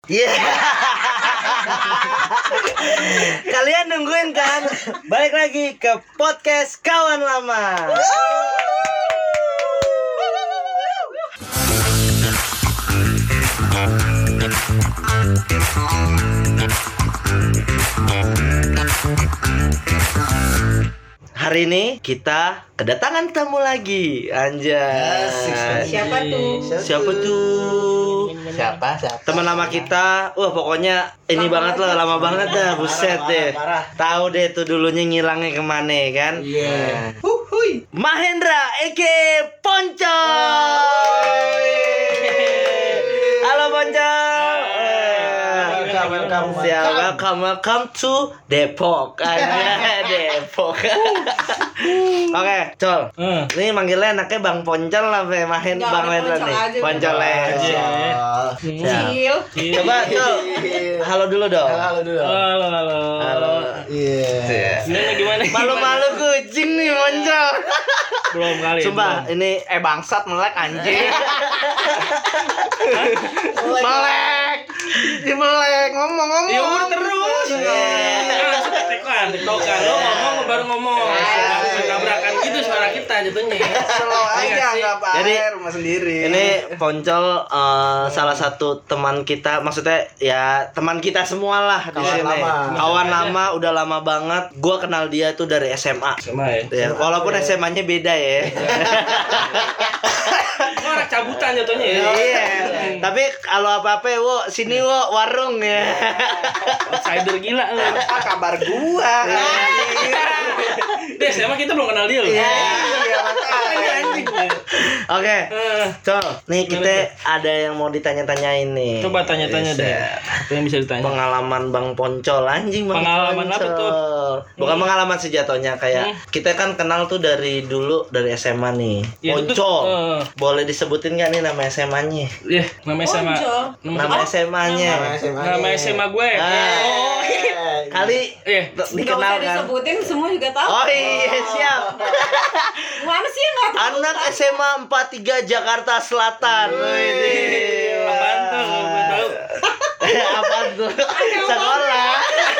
Yeah. Kalian nungguin kan? Balik lagi ke podcast Kawan Lama. Hari ini kita kedatangan tamu lagi, anjay. Siapa tuh? Siapa? Teman lama kita. Wah, pokoknya ini banget lah, lama banget dah, buset deh. Tahu deh tuh dulunya ngilangnya kemana kan? Iya. Mahendra Eke Poncol. Halo Poncol. Welcome to Depok. Aja Depok. Oke, Col. Ini manggilnya enaknya Bang Poncol lah, Bang Mahendra nih. Poncol aja. Cil. Coba Col. Halo dulu dong. Halo. Iya. Gimana? Malu-malu kucing nih Poncol. Belum kali. Sumpah, ini bangsat melek anjing. melek. Ngomong. Ya udah terus. Tektokan. Lo ngomong baru ngomong. Tabrakan gitu suara kita jatuhnya. Slow aja enggak apa-apa. Jadi rumah sendiri. Ini Poncol salah satu teman kita, maksudnya ya teman kita semua lah di sini. Kawan lama, udah lama banget. Gua kenal dia tuh dari SMA. Ya, walaupun SMA-nya beda ya. Orang cabutan jatuhnya ya. Iya. Tapi kalau apa-apa wo sini wo warung ya. Outsider gila lu. Apa kabar gua? Des, emang kita belum kenal dia loh. Iya, makanya anjing. Oke. Col, nih kita ada yang mau ditanya-tanyain nih. Coba tanya-tanya deh. Apa yang bisa ditanya? Pengalaman Bang Poncol, anjing Bang. Pengalaman Poncol. apa tuh? Bukan pengalaman sih jatuhnya, kayak kita kan kenal tuh dari dulu, dari SMA nih. Ya, Poncol. itu, Boleh disebutin nggak nih nama SMA-nya? Iya, nama SMA. Nama SMA-nya. Nama SMA gue. Oh, kali dikenal Gak usah kan. disebutin, semua juga tahu. Oh iya, siap. Mana sih yang gak tahu? Anak SMA 43 Jakarta Selatan. Wih. Apaan tuh? Gue tahu. Apaan tuh? Sekolah.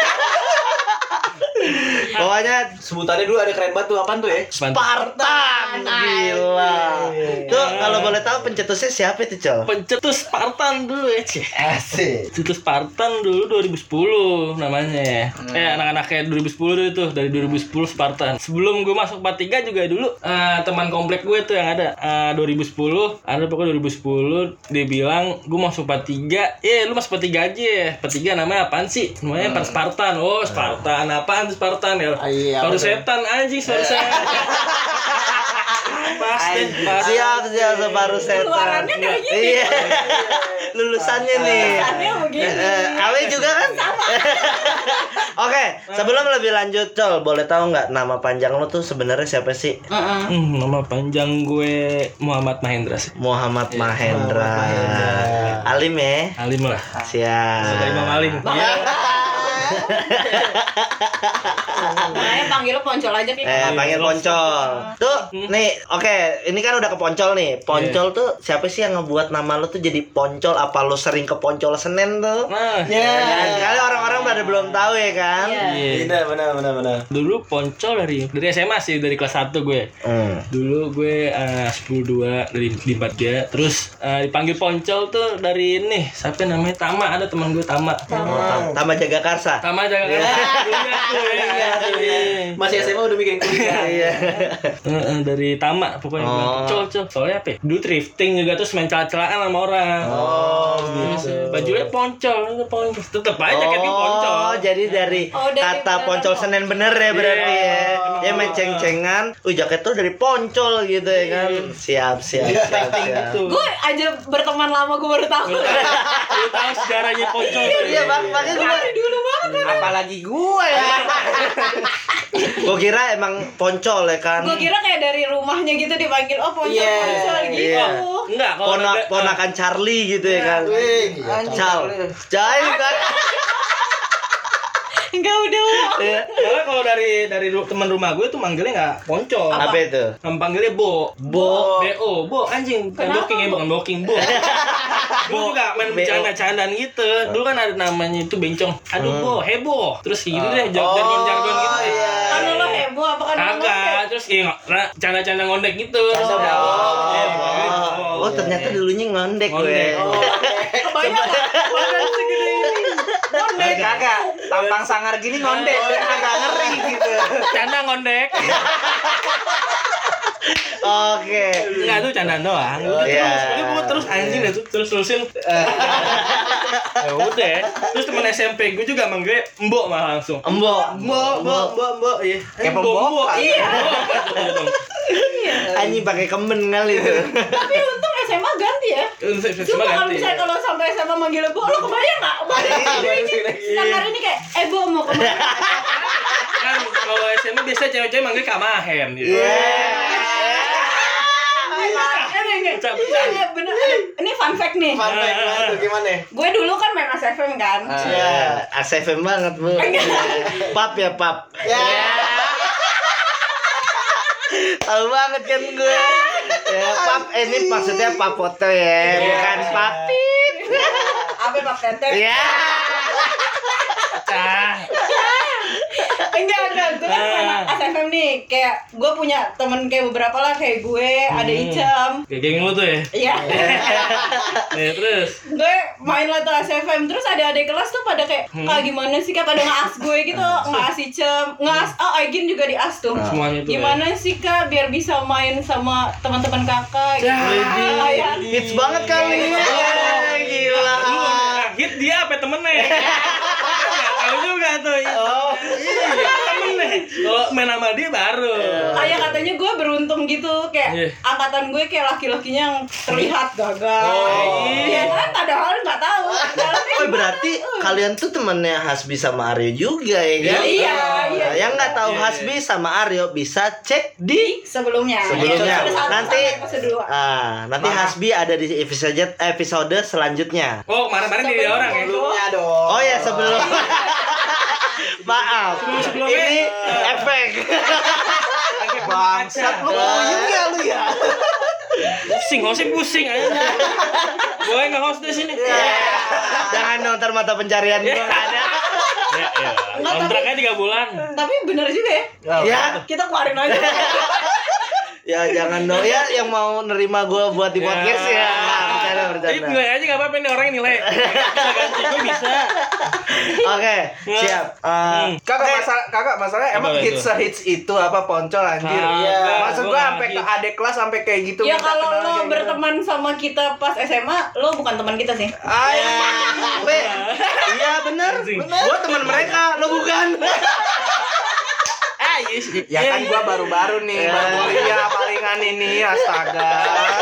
Pokoknya Sebutannya dulu ada keren banget tuh, apaan tuh ya? Spartan. Gila. Tuh kalau boleh tahu pencetusnya siapa itu, Col? Pencetus Spartan dulu ya, Cih. Asik. Pencetus Spartan dulu 2010 namanya. Anak-anak kayak 2010 dulu tuh, dari 2010 Spartan. Sebelum gue masuk 43 juga dulu teman komplek gue tuh yang ada 2010, ada pokoknya 2010 dia bilang gue masuk 43. Lu masuk 43 aja ya. 43 namanya apaan sih? Namanya Spartan. Oh, Spartan. Apaan tuh Spartan ya? Baru setan anjing suara saya. Siap separuh setan. Keluarannya kayak gini. Iya. Lulusannya nih. Lulusannya begini. Awe juga kan? Sama. Oke, sebelum lebih lanjut, Col, boleh tahu nggak nama panjang lo tuh sebenarnya siapa sih? Nama panjang gue Muhammad Mahendra sih. Muhammad Mahendra. Alim ya? Alim lah. Siap. Sudah Imam Alim. Makanya panggil lo Poncol aja kayak. Panggil Poncol. Tuh, nih, oke, ini kan udah ke Poncol nih. Poncol tuh siapa sih yang ngebuat nama lo tuh jadi Poncol? Apa lo sering ke Poncol Senen tuh? Nah, Kali orang-orang pada belum tahu ya kan? iya. Benar. Dulu Poncol dari SMA sih, dari kelas 1 gue. Dulu gue 10-2 dari di 4 terus dipanggil Poncol tuh dari ini. Siapa namanya? Tama, ada teman gue Tama. Tama Jagakarsa. Tama Jagakarsa. Masih SMA udah bikin kuliah. Iya. Dari Tama pokoknya. Col. Soalnya apa? Dulu thrifting juga terus main celah-celahan sama orang. Gitu. Bajunya Poncol. Tetep aja jaketnya Poncol. Oh, jadi dari kata Poncol Senen bener ya berarti ya. Ya main ceng-cengan. Jaket tuh dari Poncol gitu ya kan. Siap. Gitu. Gue aja berteman lama gue baru tahu. Lu tahu sejarahnya Poncol. Iya, Bang. Makanya gue Dari dulu banget. apalagi gue ya. Gue kira emang Poncol ya kan. Gue kira kayak dari rumahnya gitu dipanggil Poncol gitu. Iya. Enggak, kalau ponakan Charlie gitu ya kan. Cal. Jai kan. Enggak udah. Soalnya kalau dari teman rumah gue tuh manggilnya nggak Poncol. Apa itu? Panggilnya Bo. Bo. Bo anjing. Bukan booking ya, bukan booking, Bo. Gue juga main bercanda-candaan gitu. Dulu kan ada namanya itu bencong. Aduh Bo, heboh. Terus gitu deh, jargon-jargon gitu. Karena lo heboh apa kan? Kagak, terus canda-canda ngondek gitu. Oh, ternyata dulunya ngondek gue. Kebanyakan badan segede ini. Ngondek. Kagak, tampang sangar gini ngondek, agak ngeri gitu. Canda ngondek. Oke. Enggak tuh candaan doang. Iya. Terus anjing dah tuh terusin. Ya udah. Terus teman SMP gue juga manggil Mbok malah langsung. Mbok. Iya. Kayak pembok. Iya. Anjing pakai kemen kali itu. Tapi untung SMA ganti ya. Cuma kalau misalnya kalau sampai SMA manggil Bo, lo kebayang nggak? Sekarang ini kayak, Bo mau kemana? Kan kalau SMA biasa cewek-cewek manggil Kamahen gitu. Iya bener. Ini fun fact nih. Fun fact tuh gimana? Gue dulu kan main ASFM kan. Iya, ASFM banget, Bu. Pap ya, Pap. Tahu banget kan gue. Ya, Pap ini maksudnya Pap foto ya, bukan Papit. Apa Pap Tete? Ya. Enggak, gue kan main ASFM nih. Kayak gue punya temen kayak beberapa lah, kayak gue, ada Icam. Kayak geng lu tuh ya. Iya. Ya terus. Gue main lah tuh ASFM, terus ada adik kelas tuh pada kayak, gimana sih Kak, pada nge-as gue gitu, nge-as Icam, nge-as, Aigin juga di-as tuh. Semuanya tuh. Gimana sih Kak biar bisa main sama teman-teman kakak gitu. Hits banget kali. Gila. Hit dia apa temennya? Nggak tahu juga tuh. Iya, temennya. Kalau main sama dia baru. Kayak katanya gue beruntung gitu, kayak angkatan gue kayak laki-lakinya yang terlihat gagal. Iya kan, padahal nggak tahu. Oh, berarti kalian tuh temennya Hasbi sama Aryo juga ya kan? Iya. Yang nggak tahu Hasbi sama Aryo bisa cek di sebelumnya. Nanti Hasbi ada di episode selanjutnya. Oh, kemarin-kemarin dia orang ya. Sebelumnya dong. Oh ya, sebelum. Maaf. Ini efek. Bangsat lu puyeng ya lu ya. Pusing aja. Gue nge-host di sini. Jangan dong, ntar mata pencarian gue nggak ada. Kontraknya 3 bulan. Tapi bener juga ya. Ya. Kita keluarin aja. Ya jangan dong ya, yang mau nerima gue buat di podcast ya. Jadi nilai aja nggak apa-apa, ini orang yang nilai. Bisa ganti gue bisa. Oke, siap. Kakak masalah emang Apa itu? hits itu apa Poncol anjir. Iya. Maksud gua sampai ke adik kelas sampai kayak gitu. Ya minta kalau kenal lo kayak gitu. berteman sama kita pas SMA, lo bukan teman kita sih. Iya benar. Gue teman mereka, lo bukan. Ya kan gua baru-baru nih, baru kuliah palingan ini, astaga.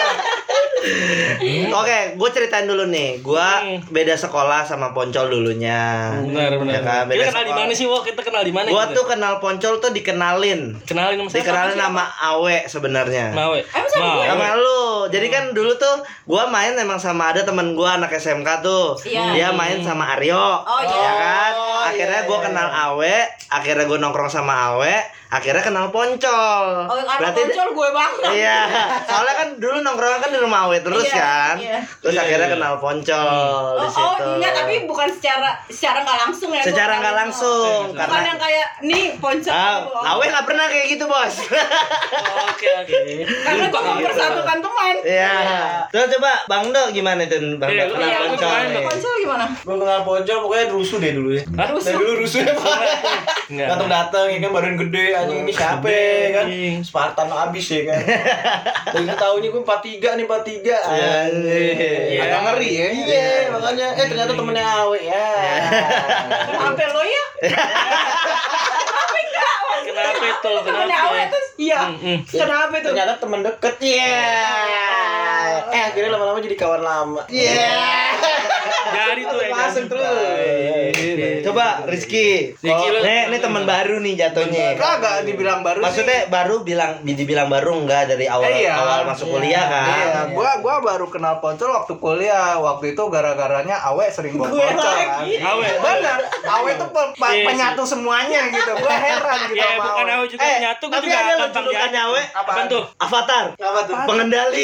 Oke, gue ceritain dulu nih. Gue beda sekolah sama Poncol dulunya. Benar. Ya kan, beda Kita kenal di mana sih, Wo? Kita kenal di mana? Gue tuh kenal Poncol tuh dikenalin sama Awe sebenarnya. Mawe. Sama gue. Sama lu. Jadi kan dulu tuh gue main emang sama ada temen gue anak SMK tuh. Iya. Dia main sama Aryo. Oh iya. Ya kan? Akhirnya gue kenal Awe, akhirnya gue nongkrong sama Awe, akhirnya kenal Poncol. Oh, karena Poncol gue banget. Iya. Soalnya kan dulu nongkrong kan di rumah Awe terus kan. Iya. Terus akhirnya kenal Poncol di situ. Oh enggak, tapi bukan secara nggak langsung ya. Secara nggak langsung. Bukan yang kayak nih Poncol. Awe nggak pernah kayak gitu, Bos. Oke. Karena gue mempersatukan teman. Iya. Terus coba Bang Do gimana tuh? Bang Do kenal Iya, Poncol. Poncol gimana? Gua kenal Poncol pokoknya rusuh deh dulu ya. Dari dulu rusuh ya, Pak. Datang ya kan, badan gede anjing, ini siapa ya kan? Spartan abis ya kan. Dan tahunya gue 43 nih, 43. Agak ngeri ya. Iya, makanya ternyata temennya Awe ya. Kenapa lo ya? Kenapa itu? Temennya Awe tuh? Iya. Kenapa itu? Ternyata temen deket. Iya. Akhirnya lama-lama jadi kawan lama. Iya. Jari tuh ya. Masuk terus. Coba Rizky. Ini teman baru nih jatuhnya. Kagak dibilang baru. Maksudnya baru dibilang baru enggak dari awal masuk kuliah kan? Iya, gua baru kenal Poncol waktu kuliah. Waktu itu gara-garanya Awe sering bawa Poncol kan. Awe. Benar. Awe tuh penyatu semuanya gitu. Gua heran gitu sama sama bukan Awe. Awe juga nyatu, gua Tapi juga ada gampang julukannya Awe. Apaan tuh? Avatar. Apa tuh? Pengendali.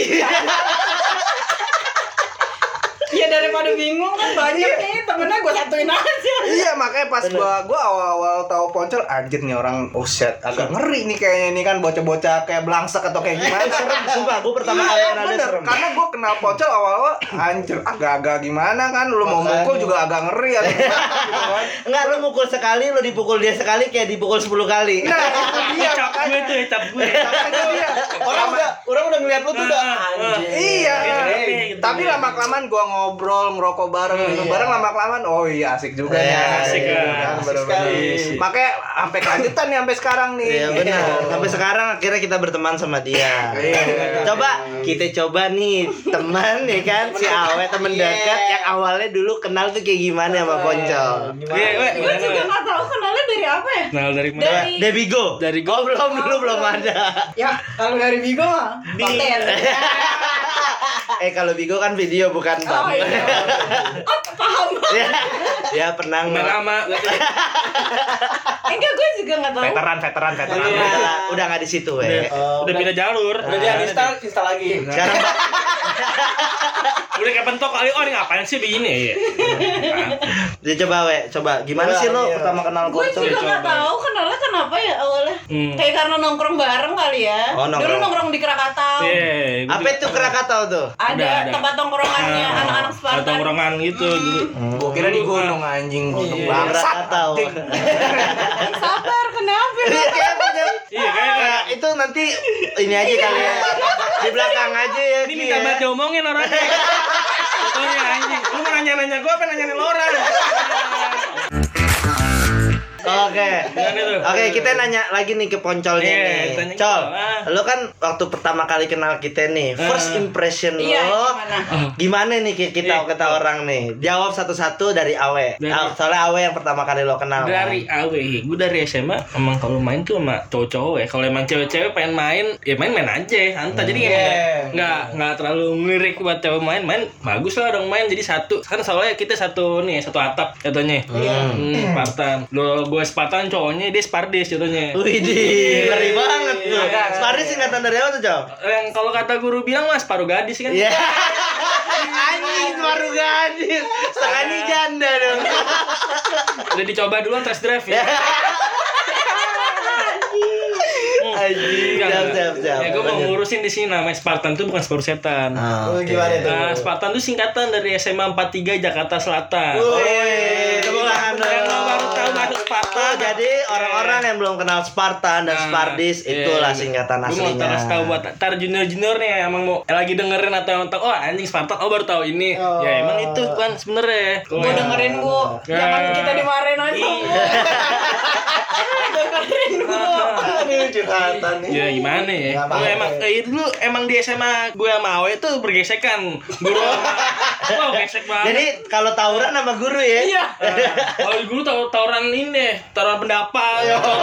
Ya daripada bingung kan banyak nih temennya gue satuin aja. Iya, makanya pas gua awal-awal tahu Poncol, anjir nih orang set agak ngeri nih kayaknya ini kan bocah-bocah kayak blangsek atau kayak gimana. Sumpah, gue pertama kali kenal dia serem. Karena gua kenal Poncol awal-awal anjir agak-agak gimana kan, lu mau mukul juga agak ngeri atau gimana gitu kan. Enggak, lu mukul sekali, lu dipukul dia sekali kayak dipukul 10 kali. Nah, itu dia Cap gue tuh, cap gue. makanya dia. Orang udah ngeliat lu tuh udah anjir. Iya. Gitu. Tapi lama-kelamaan gua ngobrol, ngerokok bareng, minum bareng, lama-kelamaan oh iya asik juga nih. Asik kan. Asik sekali. Makanya sampai kelanjutan nih sampai sekarang nih. Iya benar. Sampai sekarang akhirnya kita berteman sama dia. Kita coba nih teman ya kan si Awe teman dekat yang awalnya dulu kenal tuh kayak gimana sama Poncol. Gue juga nggak tahu kenalnya dari apa ya. Kenal dari mana? Debigo. Dari Oh, belum ada. Ya kalau dari Bigo mah konten. Kalau Bigo kan video bukan Oh iya. Oh, paham. Ya pernah lama. Enggak, gue juga nggak tahu. Veteran. Udah nggak di situ Udah pindah jalur. Udah dia install lagi. Sekarang Udah kayak pentok kali, ini ngapain sih begini? dia coba gimana sih lo pertama kenal Gue Poncol? juga nggak tahu kenalnya kenapa ya awalnya. Kayak karena nongkrong bareng kali ya. Oh, nongkrong. Dulu nongkrong di Krakatau. Apa itu Krakatau tuh? Ada tempat nongkrongannya anak-anak Spartan. Tongkrongan gitu dulu. Gua kira di gunung anjing. Krakatau. Sabar, kenapa? Iya kayak Itu nanti ini aja kali ya. Di belakang aja ya. ini minta banget diomongin orangnya. Contohnya anjing. Lu mau nanya-nanya gua apa nanyain orang? Oke, kita nanya lagi nih ke Poncolnya nih. Col, lo kan waktu pertama kali kenal kita nih, first impression lo gimana nih kita orang nih? Jawab satu-satu dari Awe. Soalnya Awe yang pertama kali lo kenal. Dari Awe, gue dari SMA emang kalau main tuh sama cowok-cowok ya. Kalau emang cewek-cewek pengen main, ya main aja, santai. Jadi emang nggak terlalu ngelirik buat cewek main bagus lah dong main. Jadi satu, kan soalnya kita satu atap contohnya. Spartan. Gue Spartan cowoknya, dia Spardis contohnya. Widih, ngeri banget tuh. Spardis singkatan dari apa tuh, Cow? Yang kalau kata guru bilang mas, paruh gadis kan? Iya. Anjing, paruh gadis. Sekali janda dong. Udah dicoba duluan test drive ya. Anjing, siap. Ya gue mau ngurusin di sini namanya Spartan tuh bukan Sport Setan. Gimana itu? Spartan tuh singkatan dari SMA 43 Jakarta Selatan. Tepuk tangan dong. Yang baru tahu masuk Spartan. Jadi orang-orang yang belum kenal Spartan dan Spardis itulah singkatan aslinya. Gue mau terus tahu buat tar junior nih emang mau lagi dengerin atau oh anjing Spartan baru tahu ini. Ya emang itu kan sebenarnya. Gue dengerin Bu. Jangan kita dimarahin aja. Dengerin Bu. Ini curhatan nih. Ya gimana ya? Gue emang dulu emang di SMA gue sama Awe tuh bergesekan. Guru wow gesek banget. Jadi kalau tawuran sama guru ya? Iya. Kalau guru tawuran ini, tawuran pendapat.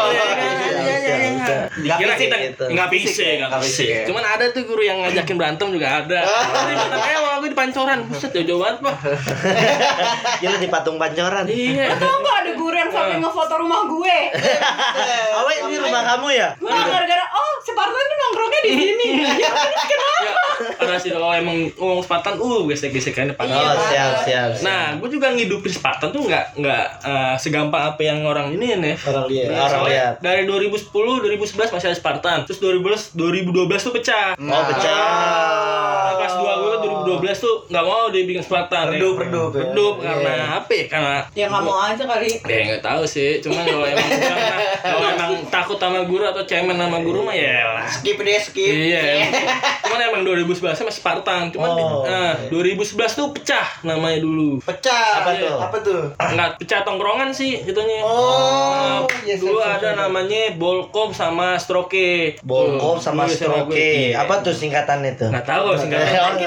Dikira kita nggak fisik. Cuman ada tuh guru yang ngajakin berantem juga ada. Nanti berantem sama gue di pancoran. Buset jauh banget pak. Gila di patung pancoran. Iya. Tahu nggak ada guru yang sampai ngefoto rumah gue? Awe ini rumah kamu ya? Wah, gara-gara Spartan tuh nongkrongnya di sini. Ya terus kenapa? Ada sih kalau emang ngomong Spartan, gesek-gesekannya parah. Oh, siap. Nah, gue juga ngidupin Spartan tuh nggak segampang apa yang orang ini nih. Orang lihat. Dari 2010, 2011 masih ada Spartan. Terus 2012 tuh pecah. Oh, pecah. Nah, kelas 2 gue 2012 tuh nggak mau dibikin Spartan. Redup karena apa ya? Karena Ya nggak mau aja kali. ya nggak tahu sih. Cuman kalau emang takut sama guru atau cemen sama guru mah ya lah. Skip. Iya. Cuman emang 2011 masih Spartan. Cuman 2011 tuh pecah namanya dulu. Pecah. Apa tuh? Enggak pecah tongkrongan sih itunya. Dulu ada namanya Bolkom sama Stroke. Bolkom sama Stroke. Apa tuh singkatannya tuh? Enggak tahu singkatannya. Kita bukan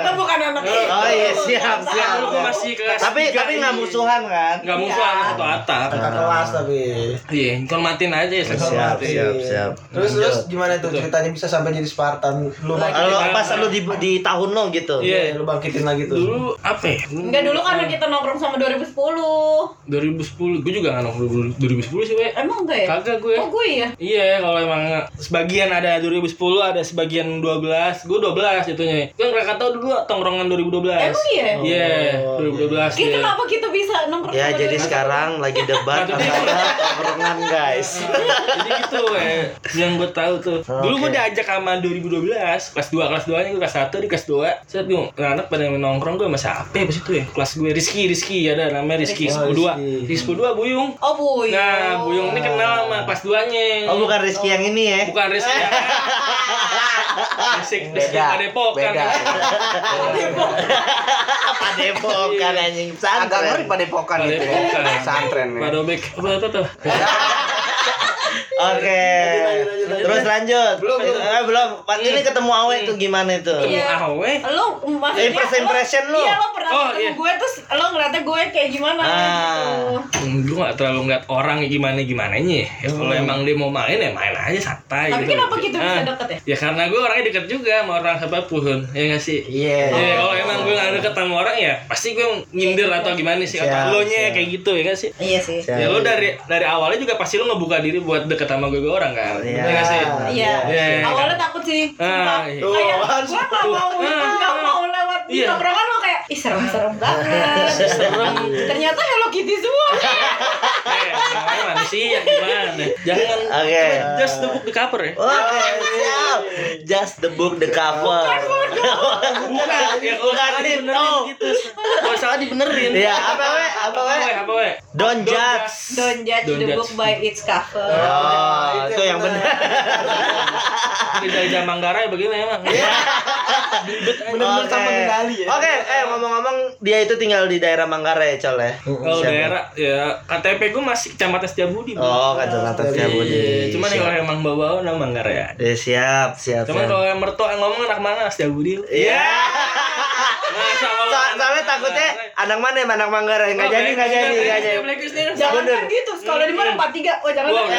anak itu. Oh iya, siap. Dulu gue masih kelas Tapi nggak musuhan kan? Nggak musuhan satu atap. Kakak kelas tapi. Iya, hormatin aja ya. Siap. Terus gimana tuh ceritanya bisa sampai jadi Spartan? Lu Kalau pas lu di tahun lo gitu. Iya, lu bangkitin lagi tuh. dulu apa ya? Enggak, dulu karena kita nongkrong sama 2010. 2010, gue juga nggak nongkrong 2010 sih, we. Emang enggak ya? Kagak gue. Oh, gue ya? Iya, kalau emang sebagian ada 2010, ada sebagian 12. Gue 12 jatuhnya. Gue nggak tahu dulu tongkrongan 2012. Emang iya? Iya, 2012. Kita iya. kenapa kita bisa nongkrong Ya sama jadi 2010? sekarang lagi debat antara tongkrongan guys. Jadi gitu, yang gue tahu tuh. Dulu gue diajak sama 2012, kelas 2 nya gue kelas 1 di kelas 2. Saya bingung, anak pada nongkrong gue sama siapa ya pas itu ya? Kelas gue Rizky ada namanya Rizky 10-2. Rizky 10-2 Buyung. Oh, Buyung. Nah, Buyung ini kenal sama kelas 2-nya. Oh bukan Rizky yang ini ya? Bukan Rizky. Rizky Padepokan. Padepokan anjing pesantren. Agak ngeri Padepokan itu ya. Pesantren. Padobek. Apa tuh? Oke. Terus lanjut. Belum. Pas ini ketemu Awe tuh gimana itu? Iya. Awe. Lo maksudnya Impression lu. Iya, lo pernah Oh, ketemu iya. gue terus lo ngeliatnya gue kayak gimana gitu. Gue gak terlalu ngeliat orang gimana-gimananya ya. Kalau emang dia mau main ya main aja santai. Tapi gitu. kenapa kita bisa deket ya? Ya karena gue orangnya deket juga sama orang siapapun. Ya gak sih? Iya. Ya, kalau emang gue gak deket sama orang ya pasti gue nyindir atau gimana sih. Siap, Atau lo nya siap. kayak gitu ya gak sih? Iya sih. Ya lo dari awalnya juga pasti lo ngebuka diri buat deket sama gue orang kan. Iya. Ya gak sih? Iya. Iya. Awalnya takut sih. Sumpah. Iya. Kayak Tuh, gue gak mau lewat di Iya. tongkrongan lo kayak ih serem-serem banget. Serem. Ternyata Hello Kitty semua. Namanya manusia gimana? Jangan Oke. just the book the cover ya. Oke, siap. Just the book the cover. Bukan, ya kalau salah itu. dibenerin gitu. Kalau salah dibenerin. Iya, apa we? Don't judge. Don't judge Don't the judge. book by its cover. Oh, itu yang benar. Dari Jaya Manggarai bagaimana emang? Bener-bener sama medali ya. Oke, ngomong-ngomong dia itu tinggal di daerah Manggarai, Col ya. Kalau Siapa? daerah ya KTP gue masih Kecamatan Setiabudi. Bro. Oh, Kacamata Setiabudi. Cuman Siap. kalau emang bawa nama Manggarai ya. Siap. Cuman kalau yang mertua yang ngomong anak mana Setiabudi. Iya. Masa kalau Soalnya takutnya anak mana ya, anak Manggarai nggak jadi. Jangan Bener. kan gitu. Kalau di mana 43. Oh, jangan. Wah,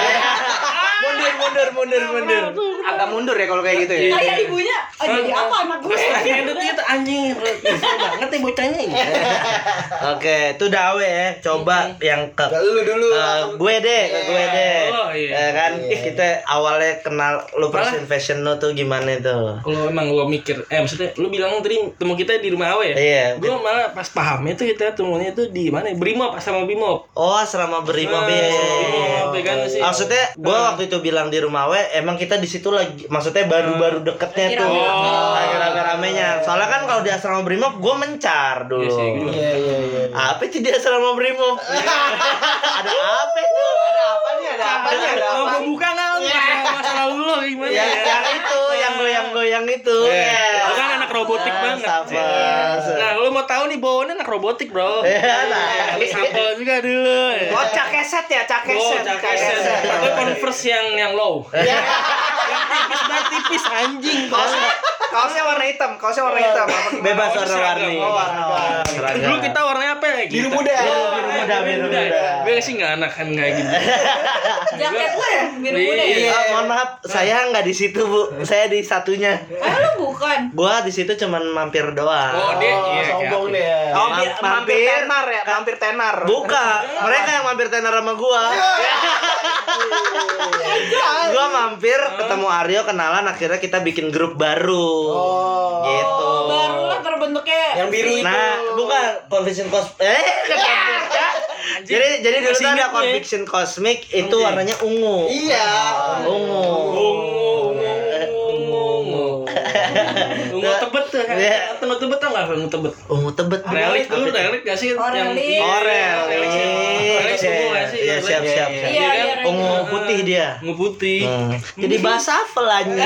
Mundur. Agak mundur ya kalau kayak gitu ya. Kayak ibunya, oh, jadi apa anak gue? Edit itu anjing. Kesel banget ya bocahnya. Oke, itu Dawe ya. Coba yang ke Lu dulu. gue deh. Oh, iya. Ya kan kita awalnya kenal lu fashion lu tuh gimana tuh? Kalau emang lo mikir, maksudnya lu bilang tadi temu kita di rumah Awe ya? Iya. Gue malah pas pahamnya tuh kita temunya tuh di mana? Brimob sama Bimob. Oh, selama berlima Bimob ya kan sih. Maksudnya gue waktu itu bilang di rumah we, emang kita di situ lagi, maksudnya baru-baru deketnya tuh, lagi rame-ramenya. Soalnya kan kalau di asrama Brimob gue mencar dulu. Iya sih, gue juga. Iya. Apa sih di asrama Brimob? Ada apa tuh? Ada apa nih? Mau gue buka nggak? Masa lalu lo gimana Ya, ya? yang itu, yang goyang-goyang itu. Lo kan anak robotik banget. Sabar. Nah, lo mau tahu nih bawaannya anak robotik, bro. Ya, nah. Lu sampel juga dulu. Oh, cak keset ya, cak keset. Atau Converse yang low. Yang tipis banget, tipis anjing. Kaosnya warna hitam. Bebas warna-warni. Dulu kita warnanya apa ya? Biru muda. Biru muda. Gue sih nggak anak kan kayak gitu. Jaket lo ya, biru muda ya? Iya, mohon maaf, saya nggak di situ bu, saya di satunya. Lu bukan? Gua di situ cuman mampir doang. Oh, dia iya Sombong kayak- deh. Oh, Mampir tenar ya, mampir tenar. Buka, mereka yang mampir tenar sama gua. Gua mampir ketemu Aryo, kenalan, akhirnya kita bikin grup baru. Gitu. Barulah terbentuknya. Yang biru itu. Nah, bukan Conviction Jadi dulu Masih tuh ada ingat gue. Conviction Cosmic itu warnanya ungu. Iya. Ungu. Ungu tebet tuh. Iya. Ungu tebet tau nggak? Ungu tebet. Ungu tebet. Relik dulu, relik gak sih? Oh, Yang- relik. Oh, relik. Relik ungu nggak sih? Iya, siap. Iya, iya, relik. Ungu putih dia. Ungu putih. Jadi bahasa apa anjing?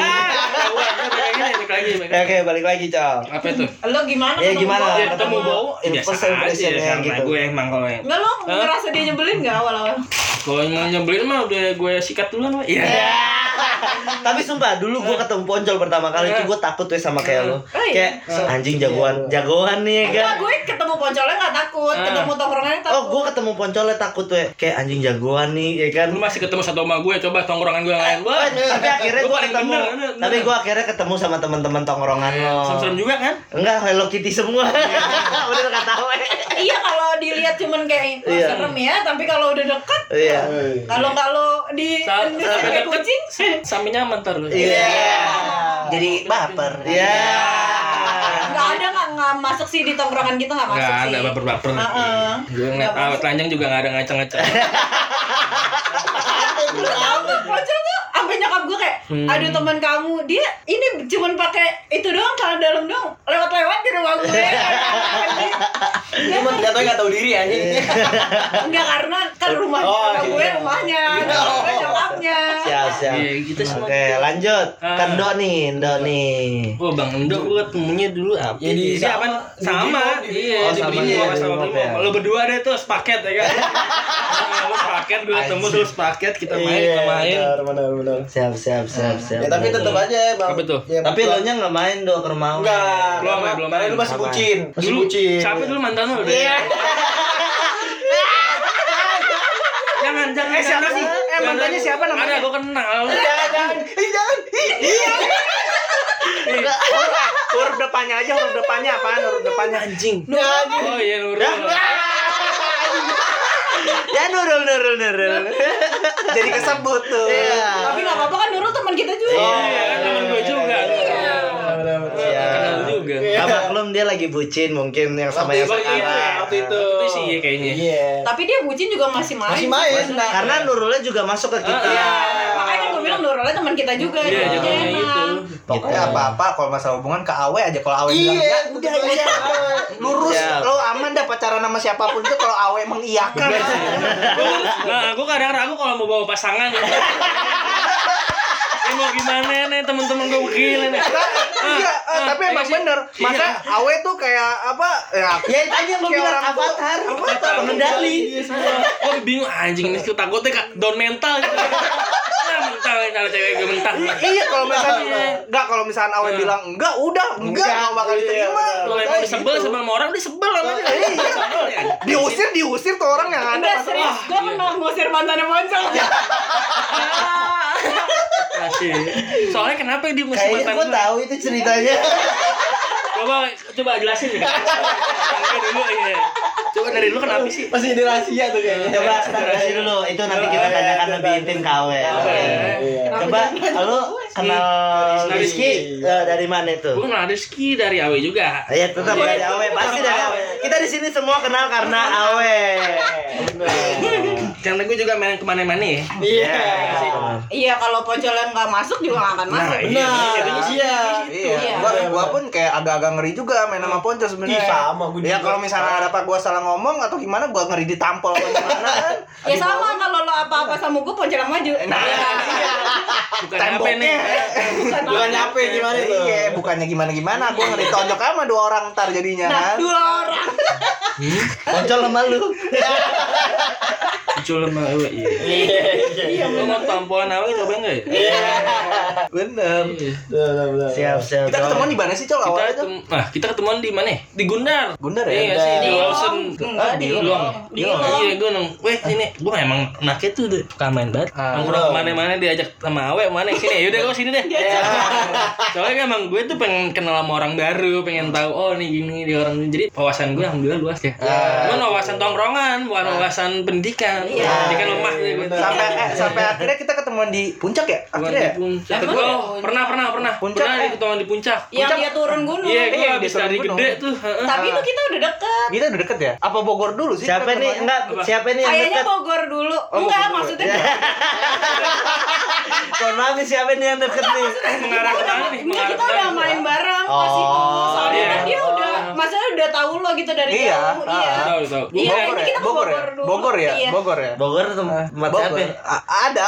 Oke, balik lagi, Cok. Apa itu? Lo gimana? Ya, ketemu gimana? gua? Ya, ketemu bau biasa aja Impression-nya karena gitu. gue emang kalau yang Enggak, lo ngerasa dia nyebelin gak awal-awal? kalau emang nyebelin mah udah gue sikat duluan, Pak. Iya. Tapi sumpah dulu gue ketemu Poncol pertama kali itu gue takut tuh sama kayak lo. Kayak anjing jagoan nih kan. Enggak, gue ketemu Poncolnya enggak takut, ketemu tongkrongannya takut. Oh, gue ketemu Poncolnya takut tuh. Kayak anjing jagoan nih ya kan. Lu masih ketemu satu sama gue, coba tongkrongan gue yang lain. Tapi akhirnya gue ketemu. Tapi gue akhirnya ketemu sama teman-teman tongkrongan lo. Serem juga kan? Enggak, Hello Kitty semua. Udah enggak tahu. Iya, kalau dilihat cuman kayak serem ya, tapi kalau udah dekat, iya. Kalau di sampai kucing, sampai nyaman ntar lu. Iya. Jadi baper. Iya. Nggak masuk sih di tongkrongan gitu, nggak masuk sih. Nggak ada baper-baper. Gue ngeliat awet telanjang juga nggak ada ngaceng-ngaceng. Lu tau gak, Pocol tuh sampai nyokap gue kayak, aduh teman kamu, dia ini cuman pakai itu doang, celana dalam doang, lewat-lewat di rumah gue. Cuma ternyata nggak tahu diri anjing. Enggak, karena kan rumah gue rumahnya, gue nyokapnya. Siap. Iya, gitu semua. Oke, lanjut. Kan Ndo nih. Oh, Bang Endo gue ketemunya dulu apa? Ya di sama. Iya, di Brimo sama Brimo. Lo berdua deh tuh sepaket ya kan. Lo sepaket, gue ketemu terus sepaket, kita main. Benar. Siap. Ya tapi tetap aja, Bang. Apa tuh? Ya, Tapi lo nya nggak main do ke rumah. enggak. Belum Karena main. lu masih bucin. Masih bucin. Siapa dulu mantan lo? Iya. Jangan. Siapa sih? Mantannya siapa namanya? Ada, gue kenal. Jangan. Huruf depannya aja, huruf depannya apaan? Huruf depannya anjing. Oh iya, Nurul. Ya Nurul. Jadi kesebut tuh. Tapi nggak apa-apa kan, Nurul teman kita juga. Iya, kan teman gue juga. Kenal juga. Gak maklum dia lagi bucin mungkin yang sama yang sekarang. Waktu itu sih kayaknya. Iya. Tapi dia bucin juga masih main. Karena Nurulnya juga masuk ke kita. Makanya kan gue bilang Nurulnya teman kita juga. Iya, Jadi jadinya emang. gitu. Pokoknya apa-apa kalau masalah hubungan ke Awe aja, kalau Awe bilang ya udah lurus, lo aman dah pacaran sama siapapun itu kalau Awe mengiyakan. Nah, gue kadang ragu kalau mau bawa pasangan gitu. Mau gimana nih temen-temen gue begini nih. Iya, tapi emang bener. Masa Awe tuh kayak apa? Ya itu aja yang gue bilang avatar. Pengendali. Gue bingung anjing ini takutnya down mental gitu. Mental cara cewek gue mental. Iya, kalau misalnya Awe bilang enggak, udah enggak bakal diterima. Kalau emang disebel sama orang, disebel sama dia. Diusir tuh orang yang ada. Enggak serius, gue pernah ngusir mantannya Poncol. Kasih. Soalnya kenapa dia mesti Kayaknya mantan gue tahu itu ceritanya. Coba jelasin ya. Dulu ya. Coba dari lu kenapa sih? Masih di rahasia tuh kayaknya. Coba start dulu. Itu nanti kita tanyakan lebih intim ke Awe. Coba lu kenal Rizky dari mana itu? Gue kenal Rizky dari Awe juga. Ya tetap dari Awe, pasti dari Awe. Kita di sini semua kenal karena Awe. Karena gue juga main kemana-mana ya. Iya, kalau Poncol yang nggak masuk juga nggak akan masuk. Iya. Gua pun kayak agak-agak ngeri juga main sama Poncol sebenarnya. Sama gue. Ya kalau misalnya ada apa gua salah ngomong atau gimana, gua ngeri ditampol atau gimana kan. Ya sama, kalau lo apa-apa sama gue, Poncol yang maju. Bukan apa nih. Bukan nyampe gimana itu? Iya, bukannya gimana-gimana, gua ngeri tonjok sama 2 orang ntar jadinya kan. 2 orang. Poncol sama lu. Muncul sama Awe. Iya. Lo mau tampolan Awe coba enggak ya? Bener. Siap. Kita ketemuan di mana sih, Col? Awalnya tuh? Kita ketemuan di mana? Di Gundar. Gundar ya? Iya sih, di Lawson. Di Long. Di Iya, gue nong. Weh, ini gue emang anaknya tuh udah suka main banget. Nongkrong kemana-mana diajak sama Awe, mana sini. Yaudah kau sini deh. Soalnya kan emang gue tuh pengen kenal sama orang baru, pengen tahu oh nih gini dia orang. Jadi wawasan gue alhamdulillah luas ya. Cuman wawasan tongkrongan, bukan wawasan pendidikan. Pendidikan lemah ya gue. Sampai akhirnya kita ketemuan di puncak ya? Akhirnya ya? Pernah. Puncak, Pernah ketemuan di puncak. Yang dia turun gunung. Iya, gue habis turun dari gunung. gede tuh. Tapi itu kita udah deket. Kita udah deket ya? Apa Bogor dulu sih? Siapa nih? Enggak, siapa nih yang Kayaknya dekat? Bogor dulu. Enggak, Bogor. maksudnya Mohon maaf nih, siapa nih yang deket nih? Mengarah ke mana nih? enggak, kita udah main bareng pas itu. Soalnya kan dia udah, maksudnya udah tahu lo gitu dari Iya, jauh. Iya. Tahu. Iya, ini kita ke Bogor dulu. Bogor ya? Iya. Bogor ya? Bogor tempat siapa? Ada.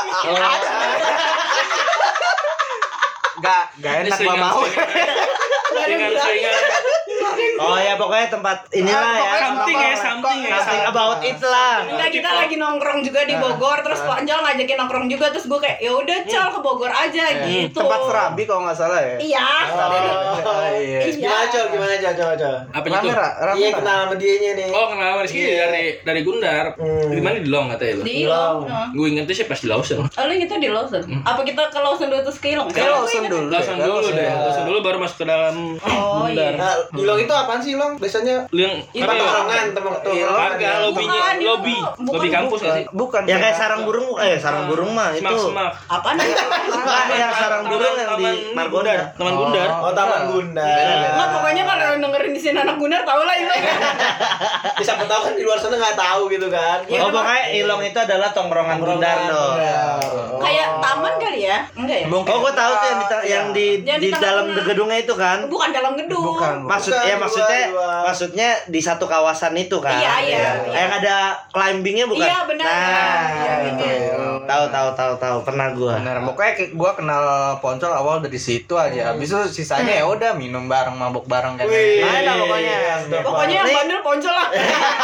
Gak enak gua mau. Dengan saingan Oh ya pokoknya tempat inilah ya. Something about it lah. Enggak, kita lagi nongkrong juga di Bogor, terus Ponjol ngajakin nongkrong juga, terus gue kayak ya udah Cal ke Bogor aja gitu. Tempat Serabi kalau nggak salah ya. Iya. Gimana coba. Apa itu? Iya kenal sama dianya nih. Oh, kenal sama Rizky dari Gundar. Di mana di Long katanya lu? Di Long. Gue ingetnya sih pas di Lawson. Oh, lu ingetnya di Lawson? Apa kita ke Lawson dulu terus ke Long? Lawson dulu. Lawson dulu baru masuk ke dalam Oh iya. Nah, di Long itu apaan sih Long? Biasanya yang tempat tongkrongan, Agak lobby kampus nggak sih? Bukan. Ya kayak sarang burung sarang burung mah itu. Semak. Apaan? Enggak yang sarang burung yang di Margonda. Taman Gundar. Oh, Taman Gundar. Enggak, pokoknya kalau dengerin di sini anak Gundar tau lah itu. Siapa tahu kan di luar sana nggak tahu gitu kan. Oh pokoknya Ilong itu adalah tongkrongan Gundar dong. Kayak taman kali ya? Enggak ya? Oh gua tahu tuh yang di dalam gedungnya itu kan. Bukan dalam gedung. Maksudnya di satu kawasan itu kan. Iya. Yang ada climbingnya bukan? Iya benar. Nah, Iya. Tahu pernah gua. Benar, pokoknya gue kenal Poncol awal dari situ aja. Habis itu sisanya ya udah minum bareng, mabuk bareng kan. Main lah pokoknya. Pokoknya yang bandel Poncol lah.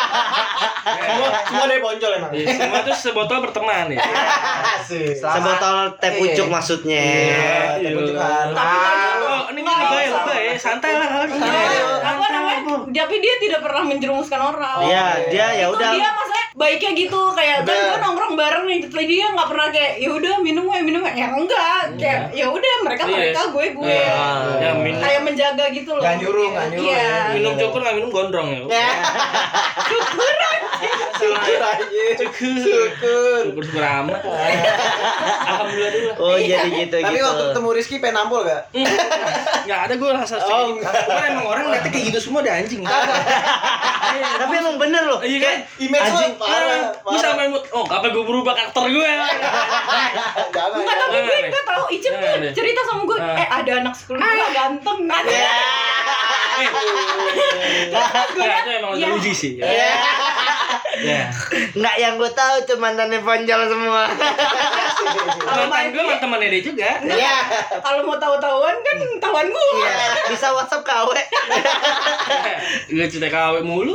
Semua dari Poncol emang. Semua tuh sebotol berteman ya. Sebotol teh pucuk maksudnya. Iya, pucukan. Oh, ini lebay, santai lah kali. Apa namanya? Tapi dia tidak pernah menjerumuskan orang. Iya, dia ya Itu udah. dia maksudnya baiknya gitu kayak kan gue nongkrong bareng nih, tapi dia nggak pernah kayak ya udah minum ya enggak kayak ya udah mereka gue Ya, minum. kayak menjaga gitu loh. Nggak nyuruh. Iya. Minum cukur nggak minum gondrong ya. Syukur amat. Alhamdulillah dulu. Oh jadi gitu. Tapi waktu ketemu Rizky pengen nampol gak? Nggak ada gue rasa sih. Bukan emang orang ngeliatnya kayak gitu semua ada anjing. Tapi emang bener loh. Iya kan? Image lo parah. Gue sampai apa gue berubah karakter gue? Jangan. Enggak tahu gue enggak tahu Icip tuh cerita sama gue ada anak sekolah gue ganteng kan. Itu emang udah uji sih. Ya. Nggak yang gue tahu tuh mantannya Ponjol semua. Mantan gue temannya dia juga. Iya. Kalau mau tahu-tahuan kan tahuan gue. Iya. Bisa WhatsApp ke Awe. Gue cerita KW mulu.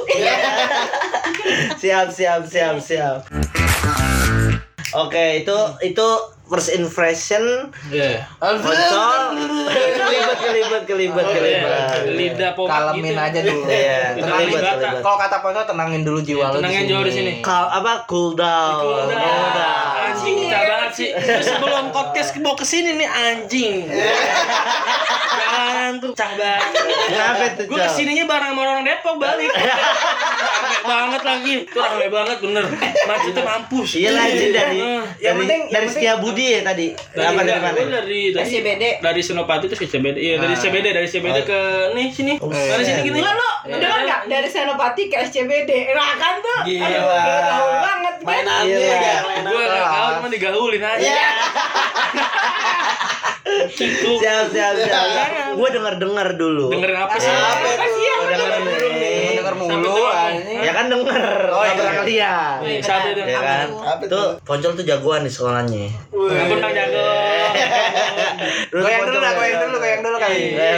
Siap. Oke, itu first impression. Poncol. Kelibet. Lidah pomak Kalemin gitu. aja dulu. Iya, Tenangin. kelibet. Kalau kata Poncol tenangin dulu jiwa lu. Tenangin jauh di sini. Cool down. Anjing, pecah banget sih. Terus sebelum podcast mau kesini nih anjing. Jangan tuh pecah banget. Kenapa tuh? Gue kesininya bareng sama orang Depok balik. Rame banget lagi. Itu rame banget bener. Macetnya mampus. Iya lanjut Yang penting Setiabudi ya tadi. Apa dari mana? Dari SCBD. Dari Senopati terus ke CBD. Iya, dari CBD ke nih sini. Dari sini gini. Enggak lo, dengar enggak dari Senopati ke SCBD. Nah kan tuh. Gila. Tahu banget kan. Mainannya ya. Gue gak tau, cuma digaulin aja. Gitu. Siap. Gue denger dulu. Dengerin apa sih? Apa sih yang denger mulu anjing. Ya kan denger. Nggak pernah ngeliat. Siapa itu? Ya kan. Apa Tuh Poncol tuh jagoan di sekolahnya. Gak pernah jago. Goyang dulu kali.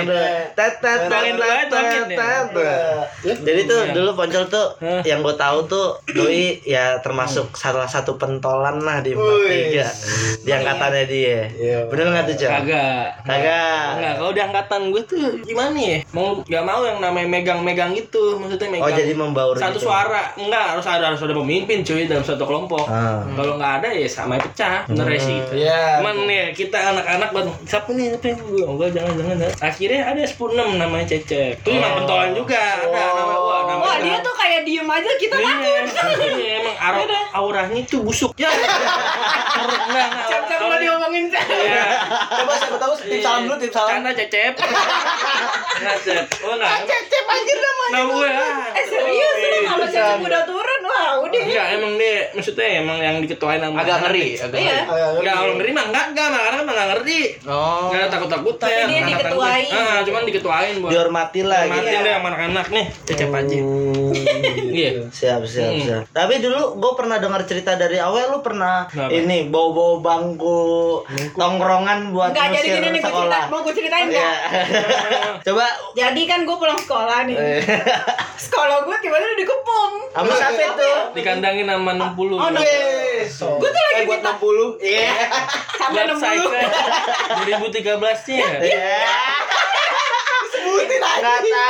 Jadi tuh dulu Poncol tuh yang gue tahu tuh doi ya termasuk salah satu pentolan lah di 43 di angkatannya dia. Bener nggak tuh Cok? Kagak. Enggak, kalau di angkatan gue tuh gimana ya? Gak mau yang namanya megang-megang gitu. Maksudnya megang. Oh jadi membaur satu gitu. Suara. Enggak, harus ada pemimpin cuy dalam satu kelompok. Kalau nggak ada ya sama pecah. Bener ya sih gitu. Cuman ya kita anak-anak baru siapa nih? Enggak, jangan. Akhirnya ada 10-6 namanya Cecep. Itu emang pentolan juga. Ada nama. Wah, dia tuh kayak diem aja kita takut. Iya, emang auranya tuh busuk. Ya. Enggak. Cep lo diomongin Cep. Iya. Coba siapa tahu tip salam dulu, tip salam. Canda Cecep. Enggak, Cep. Oh, enggak. Cep anjir namanya. Nah, gue Serius lu kalau Cep udah turun wah udah. Enggak, emang dia maksudnya emang yang diketuain sama Agak ngeri. Iya. Enggak, kalau ngeri mah enggak, karena emang enggak ngerti. Oh. Enggak ada takut-takutnya. Tapi dia diketuain. Cuman diketuain buat Dihormati lah gitu. Hormatin deh sama anak-anak nih. Cecep aja. Iya. Siap. Tapi dulu gue pernah dengar cerita dari Awe, lu pernah ini bawa bangku tongkrongan buat Enggak, jadi gini nih sekolah. mau gue ceritain enggak? Coba. Jadi kan gue pulang sekolah nih. Sekolah gue tiba-tiba dikepung. Sama siapa itu? Dikandangin sama 60. Oh, no. Gue tuh lagi buat minta 60. Iya. sampai 60. 2013-nya. Iya. Sebutin aja.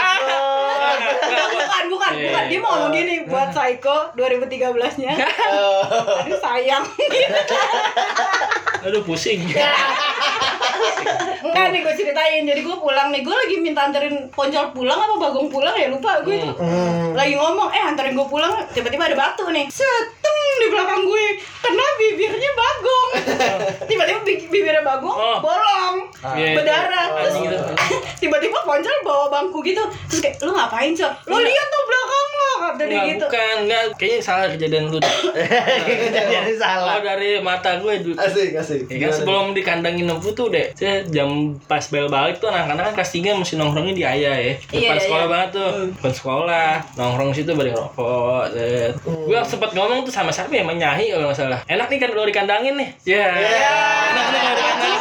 Bukan. Dia mau ngomong gini buat Psycho 2013-nya. Aduh sayang. Aduh pusing. Enggak nih gue ceritain. Jadi gue pulang nih. Gue lagi minta anterin Poncol pulang apa Bagong pulang ya, lupa gue itu. Lagi ngomong, anterin gue pulang, tiba-tiba ada batu nih. Seteng di belakang gue. Kena bibirnya Bagong. Tiba-tiba bibirnya Bagong bolong. Berdarah. Terus tiba-tiba Poncol bawa bangku gitu. Terus kayak, lu ngapain, Cok? Lu lihat tuh belakang lo, kata dia gitu. Bukan, kayaknya salah kejadian lu. Kejadian salah. Kalau dari mata gue dulu. Asik. Ya kan sebelum dikandangin nempu tuh deh, saya jam pas bel balik tuh anak-anak kan kelas 3 mesti nongkrongnya di Ayah ya. Depan sekolah banget tuh. Depan sekolah, nongkrong situ balik rokok. Gue sempet ngomong tuh sama siapa ya, Menyahi kalau nggak salah. Enak nih kan kalau dikandangin nih. Ya. Enak nih kalau dikandangin.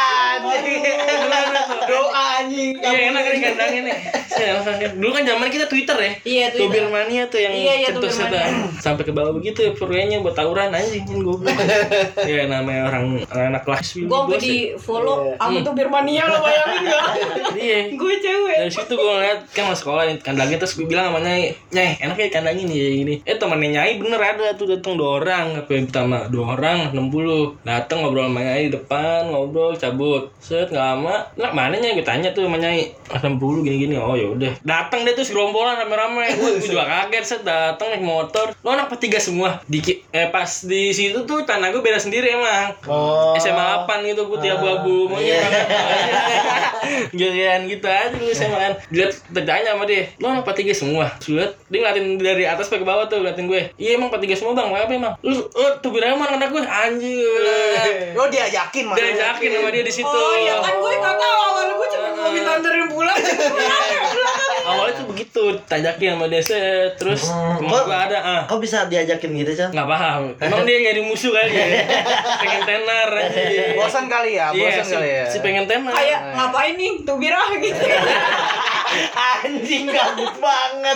Doa anjing. Iya enak kan dikandangin nih. Dulu kan zaman kita Twitter ya. Iya, Twitter. Tubir mania tuh yang cetus itu. Sampai ke bawah begitu ya purwenya buat tawuran anjing kan goblok. Ya namanya orang anak kelas. Gue sampai di follow sama Tubir mania, lo bayangin enggak? Iya. Gue cewek. Dari situ gue ngeliat kan mau sekolah kandangin, terus gue bilang sama Nyai, enak ya kandangin ya ini. Temennya Nyai bener ada tuh datang 2 orang, apa yang pertama 2 orang 60. Datang ngobrol sama Nyai di depan, ngobrol cabut. Set enggak lama, lah mana Nyai, gue tanya tuh sama Nyai, 60 gini-gini. Oh ya udah. Datang deh tuh gerombolan rame-rame. Gue juga kaget, set datang naik motor. Lo anak P3 semua. Pas di situ tuh tanah gue beda sendiri emang. SMA 8 gitu putih abu-abu. Giliran gitu aja dulu SMA kan. Dilihat tertanya sama dia, lo anak P3 semua? Lihat dia ngeliatin dari atas sampai ke bawah tuh, ngeliatin gue. Iya emang P3 semua bang, kenapa emang? Lu tuh biraman anak gue anjir. Lo diajakin mana? Diajakin sama dia di situ. Oh iya kan gue nggak tahu, awal gue cuma mau minta anterin pulang. Awalnya tuh begitu, tajakin sama dia set, terus temen gue ada Kok bisa diajakin gitu, Chan? nggak paham. Emang dia nyari musuh kali ya. Pengen tenar aja. Bosan kali ya, Si pengen tenar. Kayak ngapain nih Tubirah gitu. Anjing gabut banget.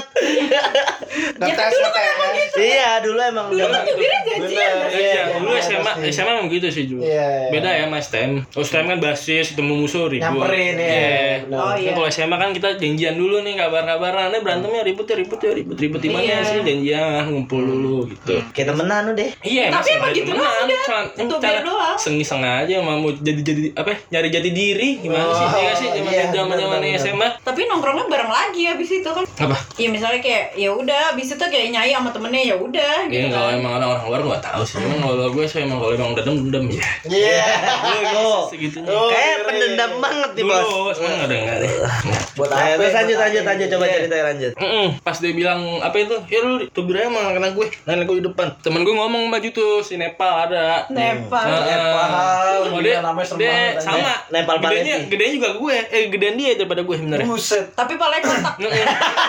Ya kan dulu kan emang gitu. Iya, dulu emang Dulu kan Tubirah janjian. Iya, dulu SMA emang gitu sih juga. Beda ya sama STM. STM kan basis, ketemu musuh ribut. Nyamperin ya. Oh iya. Kalau SMA kan kita janjian dulu nih, kabar-kabaran. Berantemnya ribut di mana sih, janjian ngumpul dulu gitu. Kita temenan deh. Iya, Tapi emang gitu doang udah. Tubir doang. Sengaja mau jadi apa? Nyari jati diri gimana sih? Iya sih zaman SMA. Tapi nongkrongnya bareng lagi abis itu kan. Apa? Iya misalnya kayak ya udah abis itu kayak Nyai sama temennya ya udah Iya, gitu kalau kan. emang orang luar gua tahu sih. Emang kalau gue sih emang kalau emang dendam ya. Iya. Segitunya. Kayak pendendam banget nih, Bos. Dulu, sekarang enggak ada deh. Buat Ayo, apa? terus lanjut coba ceritanya lanjut. Pas dia bilang apa itu, ya lu tubir aja sama anak gue, nenek gue di depan. Temen gue ngomong maju tuh si Nepal ada. Nepal. Oh, dia namanya serem dia banget, sama. Nepal Gedenya juga gue. Gedean dia daripada gue sebenarnya. Buset. Tapi palanya kotak. Iya.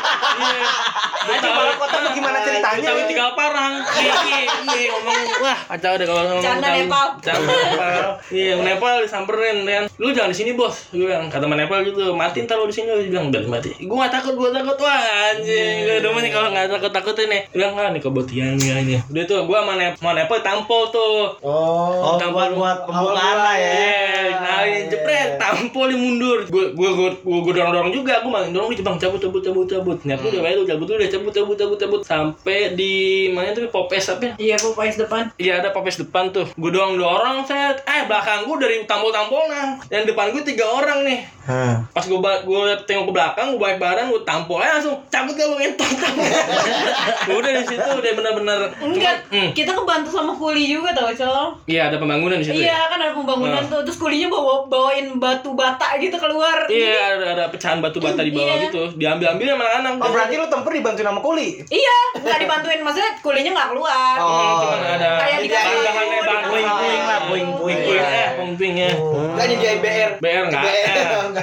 Anjing malah kota tuh gimana ceritanya? Tahu tinggal parang. Iya ngomong wah kacau deh kalau ngomong. Canda Nepal. Canda Nepal. Iya Nepal disamperin kan. Lu jangan di sini bos. Gue bilang kata teman Nepal gitu. Mati ntar lu di sini. Dia bilang udah mati. Gue nggak takut. Wah anjing. Gue demen nih kalau nggak takut ini. Dia bilang nih kebutiannya ini. Udah tuh gue sama Nepal tampol tuh. Oh, buat pembukaan lah ya. Nah, jepret, tampol dia mundur. Gue dorong juga. Gue malah dorong dia bang cabut. Nyatu udah baik lu cabut sampai di mana tuh Popes apa? Iya Popeyes depan. Iya ada Popes depan tuh. Gue dorong set. Belakang gue dari tampol-tampolan. Yang depan gue 3 orang nih. Pas gue tengok ke belakang, gue balik badan, gue tampol langsung cabut gak lu entot. Udah di situ udah benar-benar. Enggak, kita kebantu sama kuli juga tau Col. Iya ada pembangunan di situ. Iya kan ada pembangunan tuh, terus kulinya bawain batu bata gitu keluar. Iya ada pecahan batu bata di bawah gitu. Diambil sama anak-anak. Oh berarti lu tempur dibantuin sama kuli? Iya, nggak dibantuin, maksudnya kulinya nggak keluar. Cuman ada Kayak di bahan-bahannya Puing-puing lah, puing-puing. puing ya. Enggak jadi BR. BR enggak.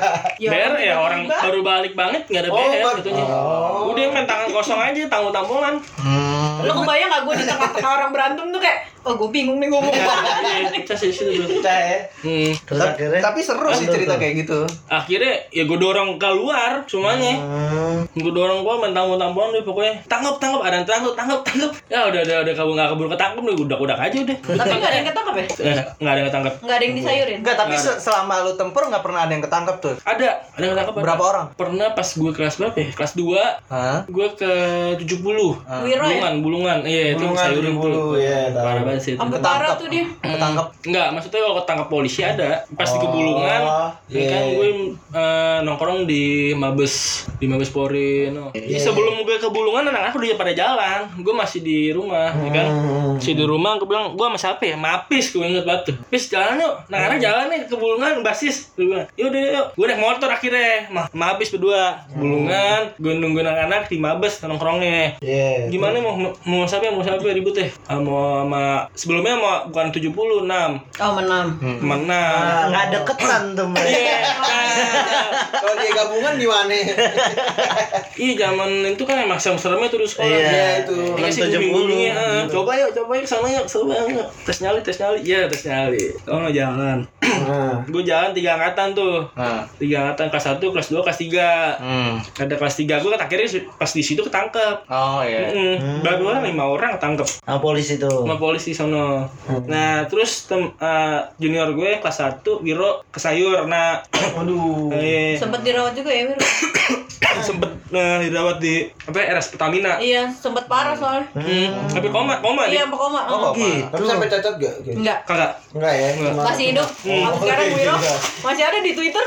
BR ya orang tiba-tiba. baru balik banget nggak ada BR gitunya. Udah main tangan kosong aja, tampolan. Lu kebayang gak gue di tengah-tengah orang berantem tuh kayak, oh gue bingung nih ngomong apa. Iya, pecah sih situ tuh. Pecah ya. Terus akhirnya Tapi seru sih cerita kayak gitu. Akhirnya ya gue dorong keluar semuanya. Gue dorong gue main tampolan deh pokoknya. Tangkap, ada yang tangkap. Ya udah kabur nggak keburu ketangkep deh, udah aja udah. Tapi gak ada yang ketangkep ya? Nggak ada yang ketangkep. Gak ada yang disayurin? Enggak, tapi selama lu tempur enggak pernah ada yang ketangkep tuh. Ada yang ketangkep. Berapa orang? Pernah pas gue kelas berapa ya? Kelas 2. Hah? Gue ke 70. Wiro ya? Bulungan. Iya, itu Bulungan, sayurin 70, tuh. iya, tahu. Parah banget sih itu. Sampai parah tuh dia. Ketangkep. Enggak, maksudnya kalau ketangkap polisi ada. Pas di Kebulungan, ya kan gue nongkrong di Mabes Polri. No. Jadi sebelum gue ke Bulungan, anak-anak udah pada jalan. Gue masih di rumah, ya kan. Masih di rumah, gue bilang, gue sama siapa ya? Mapis, gue inget banget tuh. Pis, jalan yuk. Anak-anak jalan nih ke Bulungan, basis. Gue bilang, yuk. Gue naik motor akhirnya. Mapis berdua. Bulungan, gue nungguin anak-anak di Mabes nongkrongnya. Gimana mau siapa ribut ya? Mau sama sebelumnya mau bukan 76. Oh menang. nggak deketan tuh mereka. Iya. Kalau dia gabungan gimana? Iya, zaman itu kan emang serem-seremnya tuh di sekolah. Iya, itu. Dikasih 70. guling-gulingnya. Coba yuk kesana yuk. Seru banget. Tes nyali. Iya, tes nyali. Oh, no, jalan. Gue jalan 3 angkatan tuh. 3 angkatan, kelas 1, kelas 2, kelas 3. Ada kelas 3 gue kan akhirnya pas di situ ketangkep. Oh iya. Baru 5 orang ketangkep. Sama polisi tuh. Sama polisi sono. Nah, terus junior gue kelas 1 Wiro kesayur. Nah, Aduh. Sempet dirawat juga ya Wiro? sempet dirawat di RS Pertamina. Iya, sempet parah soalnya. Tapi koma Iya, dia. sampai koma. Tapi sampai cacat gak? Enggak. Kagak. Enggak ya. Masih hidup. Sampai sekarang Wiro masih ada di Twitter.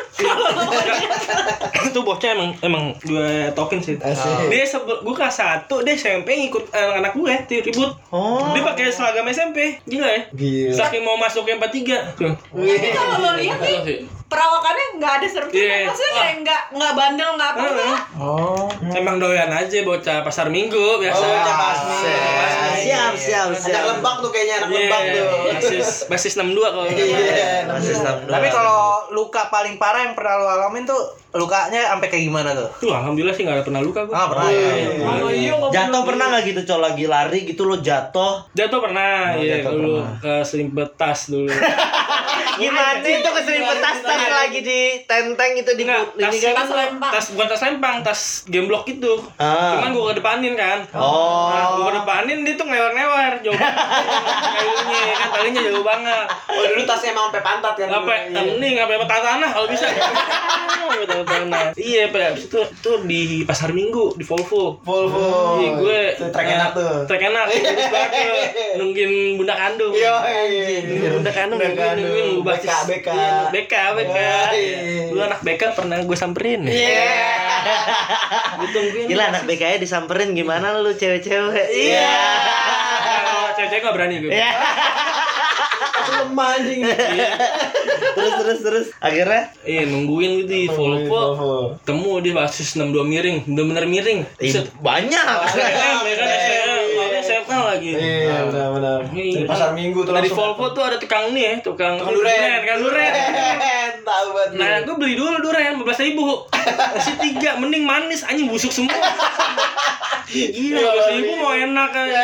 Itu bocah emang gue tokin sih. Dia gue kelas 1 dia SMP ngikut anak gue ribut. Dia pakai seragam SMP. Gila ya. Saking mau masuk ke 43. Tuh. Tapi kalau lo lihat nih perawakannya nggak ada serem-serem. Iya. Maksudnya kayak nggak bandel nggak apa-apa. Emang doyan aja bocah pasar Minggu biasa. Siap. Anak Lebak tuh kayaknya, anak Lebak tuh. Basis 62 kalau. Tapi kalau luka paling parah yang pernah lu alamin tuh lukanya sampai kayak gimana tuh? Tuh alhamdulillah sih nggak ada pernah luka gue. Pernah. Jatuh pernah nggak gitu, Col, lagi lari gitu lo jatuh? Jatuh pernah, iya dulu keselimpet tas dulu. Gimana itu keselimpet tas lagi di tenteng itu di ini kan? Bukan tas lempang, tas gemblok itu. Cuman gue kedepanin kan. Nah, gue kedepanin dia tuh ngewer-ngewer jauh kayunya kan, talinya jauh banget. Oh dulu tasnya emang sampai pantat kan? Sampai tanah kalau bisa. Iya, Pak. Habis itu di Pasar Minggu, di Volvo. Iya, gue trek enak tuh. Trek enak. Terus banget tuh. Nungguin bunda kandung. Iya. Bunda kandung nungguin BK. BK. Dulu anak BK pernah gue samperin. Iya. Gue tungguin. Gila, anak BK-nya disamperin gimana lu cewek-cewek? Iya. Cewek-cewek gak berani gue. Iya. Lemah anjing. Terus akhirnya nungguin gitu di Volvo. Temu di basis 62 miring, bener-bener miring. Banyak. SMA lagi. Iya, benar. Di Pasar Minggu tuh Dari langsung. Volvo tuh ada tukang Tukang durian. Tahu banget. Nah, gue beli dulu durian 15.000. Masih 3, mending manis anjing busuk semua. Gila, 15.000 mau enak aja.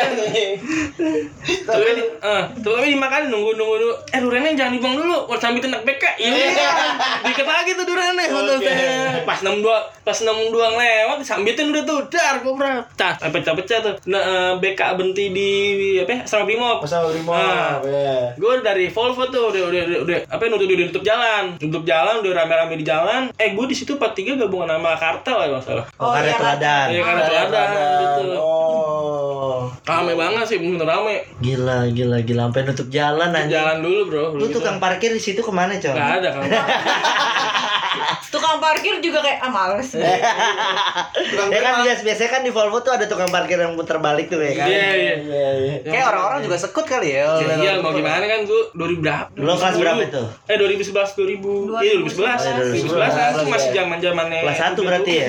Tapi dimakan nunggu dulu. Duriannya jangan dibuang dulu, harus sambil tenak BK. Iya. Dikit lagi tuh duriannya. Pas 62 lewat disambitin udah tuh, dar kopra. Pecah-pecah tuh. Nah, BK berhenti di Asrama Brimob. Gue dari Volvo tuh udah nutup jalan. Udah rame-rame di jalan. Gue di situ 43 gabungan sama Kartel ya masalah. Karet teladan. Iya, Karet teladan gitu. Rame banget sih, bener rame. Gila, sampai nutup jalan anjing. Jalan dulu, Bro. Lu tukang parkir di situ kemana, Col? Enggak ada kan. Tukang parkir juga kayak males. Ya kan biasanya kan di Volvo tuh ada tukang parkir yang putar balik tuh ya kan. Iya. Kayak orang-orang juga sekut kali ya. Iya, mau gimana kan gue 2000 berapa? Lu kelas berapa itu? 2011. Iya, 2011. 2011 kan masih zaman-zamannya. Kelas 1 berarti ya?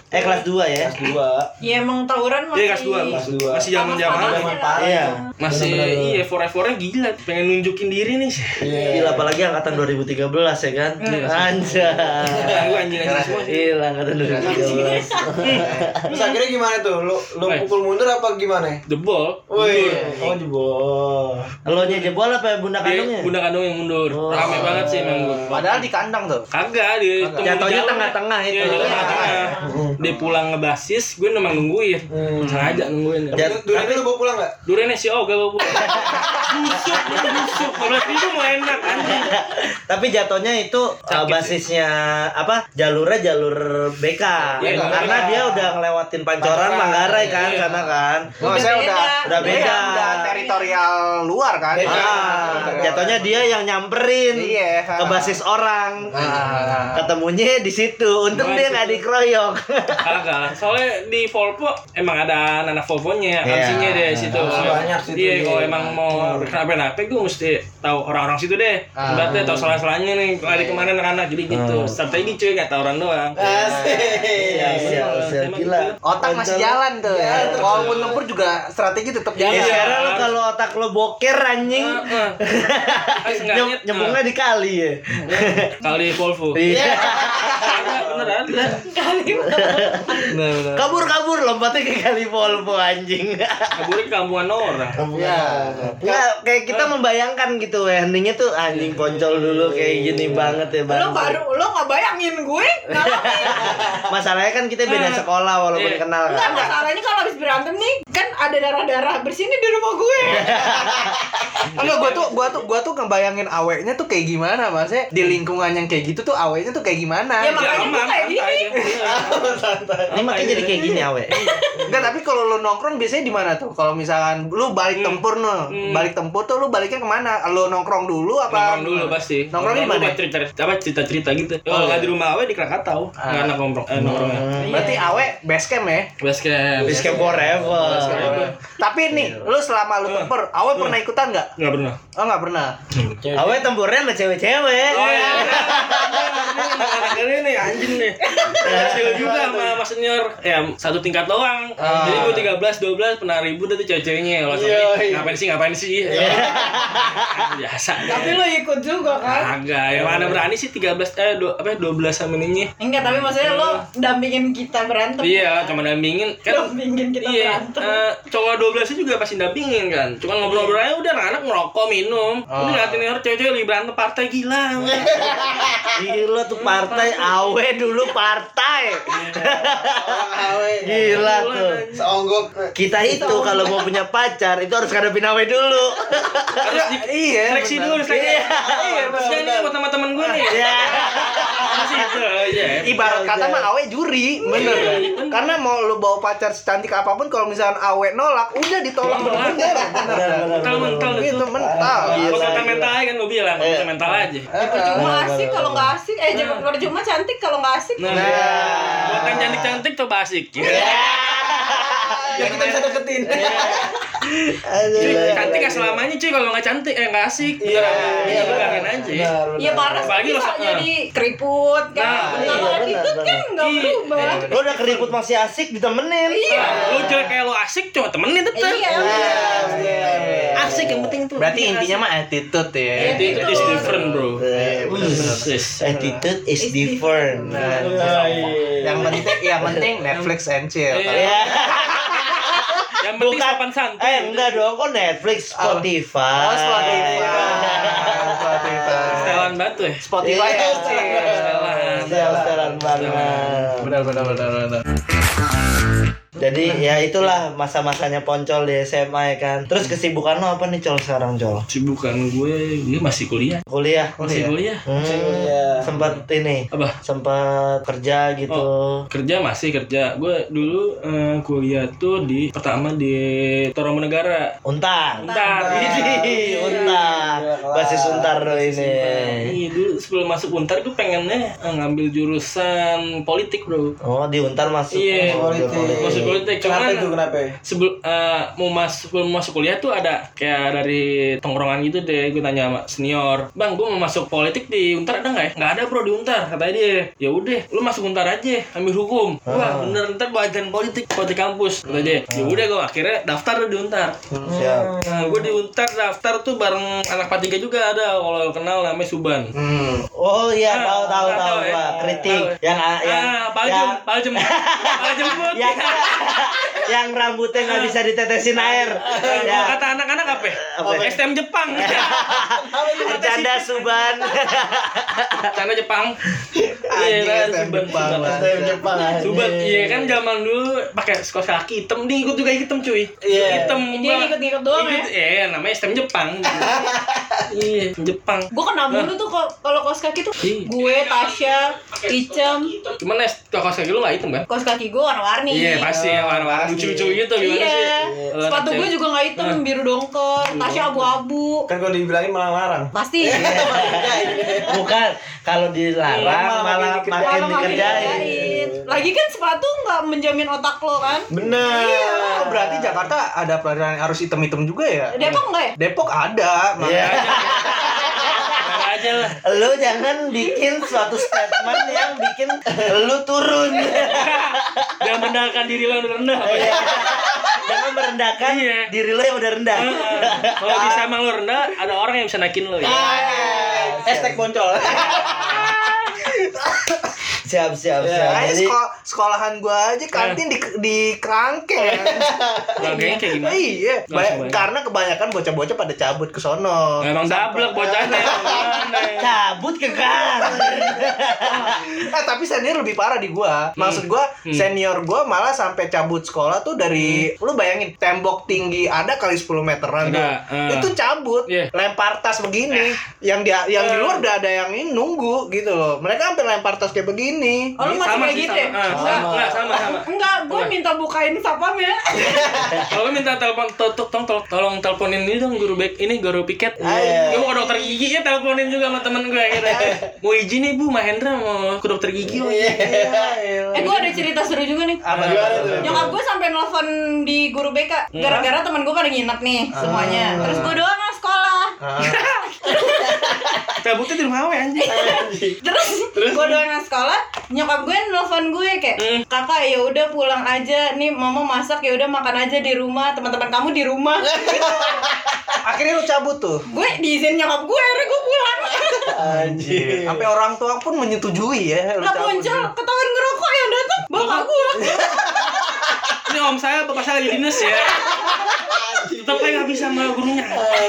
Kelas 2 ya. Kelas 2. Ya emang tawuran masih. Iya kelas 2. Masih zaman-zaman. Iya. Masih iya forever-nya gila, pengen nunjukin diri nih. Gila apalagi angkatan 2013 ya kan. Anjay. Gue anjing-anjing semua sih. Gila angkatan 2013. Terus akhirnya gimana tuh? Lu pukul mundur apa gimana? Jebol. Wih, jebol. Lo nya jebol apa bunda kandungnya? Bunda kandung yang mundur. Rame banget sih emang gue. Padahal di kandang tuh. Kagak dia Jatuhnya tengah-tengah itu. Iya, tengah-tengah. Dia pulang ngebasis, gue memang nungguin. Sengaja nungguin. Durian lu bawa pulang enggak? Duriannya si Oga bawa pulang. Busuk. 15.000 mau enak anjing. Tapi jatuhnya itu basisnya apa? Jalurnya jalur BK. Karena dia udah ngelewatin Pancoran, Manggarai kan sana kan. Saya udah beda. Udah teritorial luar kan. Jatuhnya dia yang nyamperin ke basis orang. Ketemunya di situ. Untung dia nggak dikeroyok. Kagak. Soalnya di Volvo emang ada anak Volvonya, aksinya deh situ. Banyak situ. Iya, kalau emang mau kenapa-napa gue mesti tahu orang-orang situ deh. Berarti tahu salah-salahnya nih lari kemana anak-anak jadi gitu. Strategi cuy, nggak tahu orang doang. Siap, gila. Otak masih jalan tuh. Walaupun tempur juga strategi tetap jalan. Sekarang lo kalau otak lo boker anjing. Nyembungnya di kali ya. Kali Volvo. Iya. Beneran. Kabur lompatnya ke kali Volvo anjing. Kaburnya ke kampungan orang. Nggak, kayak kita membayangkan gitu endingnya tuh anjing Poncol dulu kayak gini banget ya bang. Lo nggak bayangin gue ngalamin. Masalahnya kan kita beda sekolah walaupun kenal Enggak, kan. masalahnya kalau habis berantem nih kan ada darah-darah bersih nih di rumah gue. Enggak, gua tuh ngebayangin aweknya tuh kayak gimana, Maksudnya di lingkungan yang kayak gitu tuh aweknya tuh kayak gimana. Ya makanya gue kayak gini. Ini makanya jadi kayak gini awe. Enggak, tapi kalau lu nongkrong biasanya di mana tuh? Kalau misalkan lu balik tempur balik tempur tuh lu baliknya kemana? Lu nongkrong dulu apa? Nongkrong dulu pasti. Nongkrong di mana? Cerita gitu. Kalau nggak di rumah Awe di Krakatau. Nggak anak nongkrongnya. Berarti awe base camp ya? Base camp Forever. Tapi nih, lu selama lu tempur, awe pernah ikutan nggak? nggak pernah. Oh, nggak pernah. Awe tempurnya sama cewek-cewek. Oh ya. Anak ini nih anjing nih. Hasil juga sama Mas Senior. Ya satu tingkat doang. Jadi gue 13, 12 pernah ribut tuh cewek-ceweknya. Ngapain sih? Biasa. Tapi lo ikut juga kan? Agak. Yang mana berani sih 12 sama ininya. Enggak, tapi maksudnya lo dampingin kita berantem. Iya, cuma dampingin kan. Dampingin kita berantem. Cowok 12 juga pasti dampingin kan. Cuma ngobrol-ngobrol aja udah anak ngerokok, minum. Udah ngeliatin orang cewek-cewek lagi berantem partai gila. Gila tuh partai Awe dulu partai. Gila tuh. Seonggok. Kita itu kalau mau punya pacar itu harus ngadepin Awe dulu. Harus seleksi dulu, seleksi. Iya, maksudnya ini buat teman-teman gue nih. Iya. Masih itu aja. Ibarat kata mah awe juri, bener kan? Karena mau lu bawa pacar secantik apapun, kalau misalkan awe nolak, udah ditolak bener-bener. Mental Gitu, mental. Kalau kata mental aja kan gue bilang, kata mental aja. Percuma asik kalau nggak asik. Percuma cantik kalau nggak asik. Nah, buat yang cantik-cantik coba asik. Ya kita bisa deketin. Cuy, cantik gak selamanya cuy, kalau nggak cantik nggak asik. Iya, bilangin aja. Iya parah. Apalagi Bisa lo jadi keriput kan. Kalau attitude kan nggak berubah. Lo udah keriput masih asik ditemenin. Iya. Lu jelek kayak lo asik, coba temenin tetep. Iya. Asik yang penting tuh. Berarti intinya mah attitude ya. Attitude is different bro. Attitude is different. Yang penting Netflix and chill. Iya. Yang penting Bukan. sopan santun. Enggak dong, kok Netflix, Spotify. Setelan batu ya. Spotify Iya. and chill. Setelan banget. Benar. Jadi ya itulah masa-masanya Poncol di SMA ya kan. Terus kesibukan lo apa nih Col sekarang Col? Sibukan gue masih kuliah. Masih kuliah. Sempat ini. Apa? Sempat kerja gitu. Kerja masih kerja. Gue dulu kuliah tuh pertama di Toro Menegara. Untar. Untar. Untar. Basis Untar Untar ini. Iya, dulu sebelum masuk Untar gue pengennya ngambil jurusan politik, Bro. Oh, di Untar masuk. Iya, masuk politik. Kenapa Cuman itu kenapa? sebelum masuk kuliah tuh ada kayak dari tongkrongan gitu deh, gue tanya sama senior, "Bang, gue mau masuk politik di Untar ada nggak ya?" "Nggak ada, Bro, di Untar," katanya dia. "Ya udah, lu masuk Untar aja, ambil hukum." "Wah, bener, ntar belajar politik kampus," kata dia. Ya udah, gue akhirnya daftar di Untar. Siap. Nah, gue di Untar daftar tuh bareng anak P3 juga ada, kalau kenal namanya Suban. Oh iya, tahu ya. Pak. Kritik. Tahu ya. Yang Paljem yang rambutnya nggak bisa ditetesin air. Ya. Kata anak-anak apa? STM Jepang. Bercanda Suban. Karena Jepang. Iya, Suban. Iya kan zaman dulu pakai kaos kaki hitam, dia ikut juga hitam cuy. Hitam. Dia ngikut-ngikut doang ya. Iya, namanya STM Jepang. Iya, Jepang. Gue kena mulu tuh kalau kaos kaki tuh. Gue, Tasya, Icem. Cuman kaos kaki lu enggak hitam kan? Kaos kaki gue warna-warni. Iya, pasti ya warna-warni lucu-lucu gitu gimana sih? Iya. Sepatu gue juga nggak hitam, biru dongker. Tasya abu-abu. Kan kalau dibilangin malah larang. Pasti. Bukan, kalau dilarang malah makin dikerjain. Lagi kan sepatu nggak menjamin otak lo kan? Bener. Iya. Oh, berarti Jakarta ada pelajaran harus hitam-hitam juga ya? Depok nggak ya? Depok ada. Iya. Aja lah. Lu jangan bikin suatu statement yang bikin lu turun. Jangan merendahkan diri lo yang rendah. Jangan merendahkan diri lo yang udah rendah. Kalau bisa emang lo rendah, ada orang yang bisa naikin lo ya. Hashtag boncol. Siap. Jadi sekolahan gua aja kantin di Kerangkeng. Kerangkeng kayak gimana? Iya, karena kebanyakan bocah-bocah pada cabut ke sono. Emang dablek bocahnya. Cabut ke gang. Tapi senior lebih parah di gua. Maksud gua senior gua malah sampai cabut sekolah tuh dari lu bayangin tembok tinggi ada kali 10 meteran tuh. Itu cabut, lempar tas begini. Yang di luar udah ada yang ini nunggu gitu loh. Mereka sampai lempar tas kayak begini. Oh, lu masih kayak gitu ya? Sama. Enggak, gue minta bukain sapam ya. Kalau minta telepon, tolong teleponin ini dong guru piket. Gue mau ke dokter gigi ya, teleponin juga sama temen gue gitu. Mau izin nih Bu, Mahendra mau ke dokter gigi. Gue ada cerita seru juga nih. Nyokap gue sampai nelfon di guru BK gara-gara teman gue pada nginep nih semuanya. Terus gue doang yang sekolah. Cabutnya di rumah anjing. Terus gue doang yang sekolah, nyokap gue nelfon gue kayak, "Kakak, ya udah pulang aja nih, mama masak, ya udah makan aja di rumah, teman-teman kamu di rumah." Akhirnya lu cabut tuh. Gue diizin nyokap gue, akhirnya gue pulang. Anjir. Sampai orang tua pun menyetujui ya. Lah Boncol, ketahuan ngerokok yang datang bapak gue. Ini om saya, bapak saya lagi dinas ya. Tetap aja nggak bisa sama gurunya.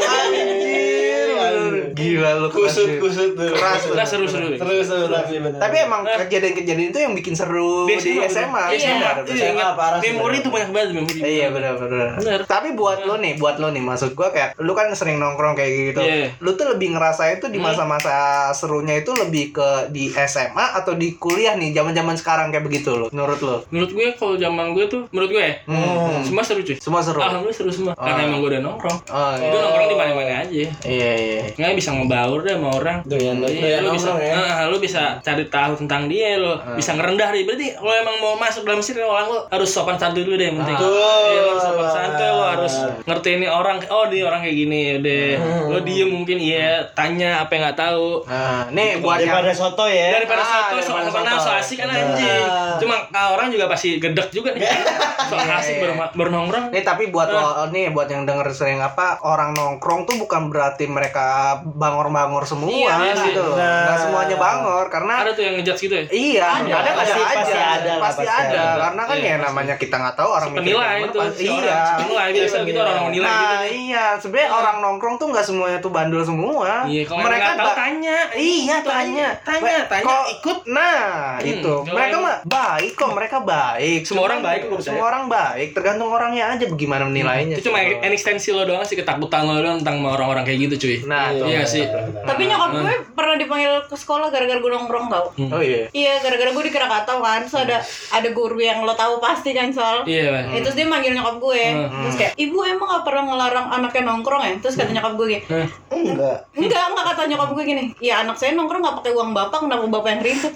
Gila lu Kusut tuh. Keras. Seru. Tapi emang kejadian-kejadian itu yang bikin seru di SMA. Iya. Memori itu banyak banget memori. Iya benar. Tapi buat lo nih, maksud gua kayak lu kan sering nongkrong kayak gitu. Lu tuh lebih ngerasa itu di masa-masa serunya itu lebih ke di SMA atau di kuliah nih, zaman-zaman sekarang kayak begitu lo. Menurut lo? Menurut gue kalau zaman gue tuh, menurut gue ya, semua seru cuy. Semua seru. Alhamdulillah seru semua. Karena emang gue udah nongkrong. Itu nongkrong di mana-mana aja. Iya. Nggak bisa ngebaur deh sama orang. Lu bisa cari tahu tentang dia, lu bisa ngerendah dia. Berarti kalau emang mau masuk dalam circle orang, lu harus sopan santun dulu deh yang penting. Iya, lu sopan santun, lu harus ngerti ini orang. Oh, dia orang kayak gini, udah. Lu diem mungkin tanya apa yang enggak tahu. Nih buat daripada soto ya. Daripada soto, so asik kan anjing. Cuma orang juga pasti gedek juga nih. So asik bernongkrong. Nih tapi buat lo nih, buat yang denger sering orang nongkrong tuh bukan berarti mereka bangor-bangor semua gitu loh. Nggak semuanya bangor karena ada tuh yang ngejudge gitu ya. Iya, ada pasti ada. Karena kan ya pasti. namanya kita nggak tahu orang penilai itu. Iya. Penilai biasa gitu orang menilai gitu. Nah, iya, sebenarnya orang nongkrong tuh nggak semuanya tuh bandel semua. Iya, kalau mereka tahu tanya. Iya, tanya. Kok ikut. Nah, itu. Mereka mah baik kok, mereka baik. Semua orang baik kok. Semua orang baik, tergantung orangnya aja bagaimana menilainya. Itu cuma ekstensi lo doang sih, ketakutan lo doang tentang orang-orang kayak gitu cuy. Nah, iya, sih. Tapi nyokap gue pernah dipanggil ke sekolah gara-gara gue nongkrong tau. Oh iya. Iya, gara-gara gue di Krakatau kan. So ada guru yang lo tahu pasti kan soal. Iya. Terus dia manggil nyokap gue. Terus kayak, "Ibu emang gak pernah ngelarang anaknya nongkrong ya?" Terus kata nyokap gue gini, Enggak kata nyokap gue gini. "Ya anak saya nongkrong gak pakai uang bapak, kenapa bapak yang ribet?"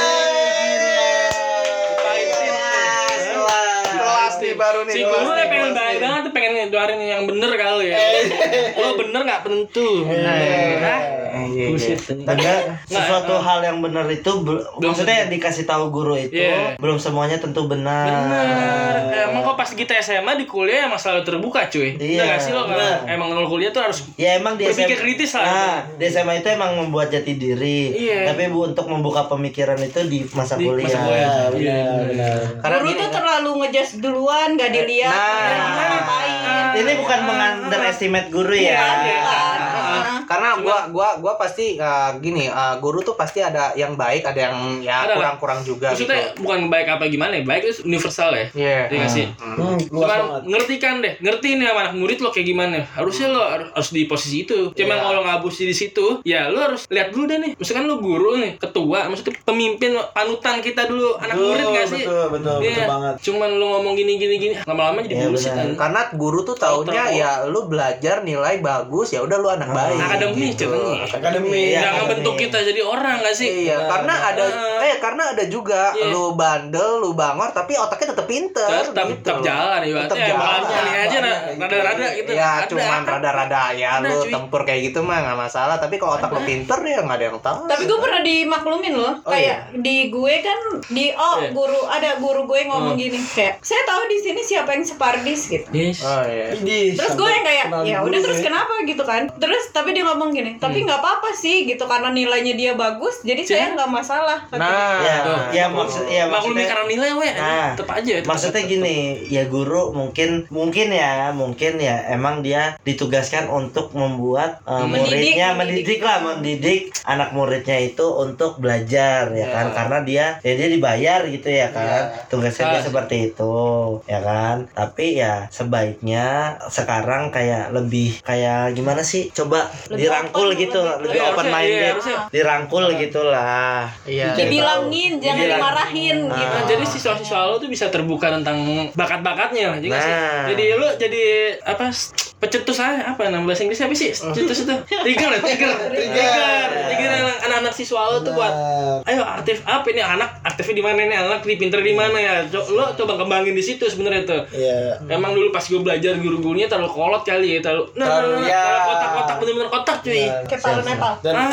Baru nih si guru pengen baik banget tuh, pengen ngeluarin yang bener kali ya. Lo bener nggak penentu. Ada sesuatu hal yang benar itu maksudnya yang dikasih tahu guru itu belum semuanya tentu benar. Emang kok pas kita SMA di kuliah emang selalu terbuka cuy. Iya. Nggak sih lo emang kalau kuliah tuh harus emang di berpikir SMA, kritis lah. di SMA itu emang membuat jati diri. Iya. Tapi untuk membuka pemikiran itu di masa kuliah. Benar. Guru tuh terlalu ngejudge duluan, gak dilihat. Ini bukan mengunderestimate guru ya. Karena gua pasti gini, guru tuh pasti ada yang baik, ada yang kurang-kurang juga. Maksudnya gitu. bukan baik apa gimana ya, baik itu universal ya. Iya. Iya nggak sih. Cuman ngerti nih sama anak murid lo kayak gimana. Harusnya lo harus di posisi itu. Cuman kalau ngabusi di situ, ya lo harus lihat dulu deh nih. Misalkan lo guru nih, ketua, maksudnya pemimpin, panutan kita dulu anak murid nggak sih? Betul banget. Cuman lo ngomong gini, lama-lama jadi bullshit kan. Karena guru tuh taunya ya lu belajar nilai bagus, ya udah lu anak baik. Akademi contohnya. Akademi. Jangan bentuk kita jadi orang nggak sih? Iya, karena ada juga lu bandel, lu bangor tapi otaknya tetap pinter. Tetap jalan ya. Tetap jalan. Ini aja rada-rada gitu. Ya, cuman rada-rada ya lu tempur kayak gitu mah nggak masalah, tapi kalau otak lu pinter ya nggak ada yang tahu. Tapi gue pernah dimaklumin loh. Kayak di gue kan guru ada guru gue ngomong gini kayak, "Saya tahu di sini siapa yang separdis gitu." Yes. Oh iya. Terus gue yang kayak, "Ya udah terus kenapa gitu kan?" Terus tapi dia ngomong gini, "Tapi nggak apa-apa sih gitu karena nilainya dia bagus, jadi saya nggak masalah." Maksudnya maklumi karena nilai tetap aja. Maksudnya gini, ya guru mungkin ya emang dia ditugaskan untuk membuat mendidik anak muridnya itu untuk belajar ya kan, karena dia dibayar gitu ya kan, tugasnya dia seperti itu ya kan. Tapi ya sebaiknya sekarang kayak lebih kayak gimana sih, coba Lebih dirangkul open, gitu, lebih open minded, dirangkul gitulah. Iya. Dibilangin, jangan dimarahin gitu. Jadi siswa-siswa lo tuh bisa terbuka tentang bakat-bakatnya juga sih. Jadi lo jadi apa, pecetus apa nama bahasa Inggrisnya apa sih? Cetus itu trigger anak-anak siswa lo tuh buat ayo ini anak aktifnya di mana, ini anak pinter di mana ya. Lo coba kembangin di situ sebenarnya tuh. Iya. Emang dulu pas gue belajar guru-gurunya terlalu kolot kali ya, terlalu kotak-kotak bener-bener kotak cuy. Kayak palu Nepal.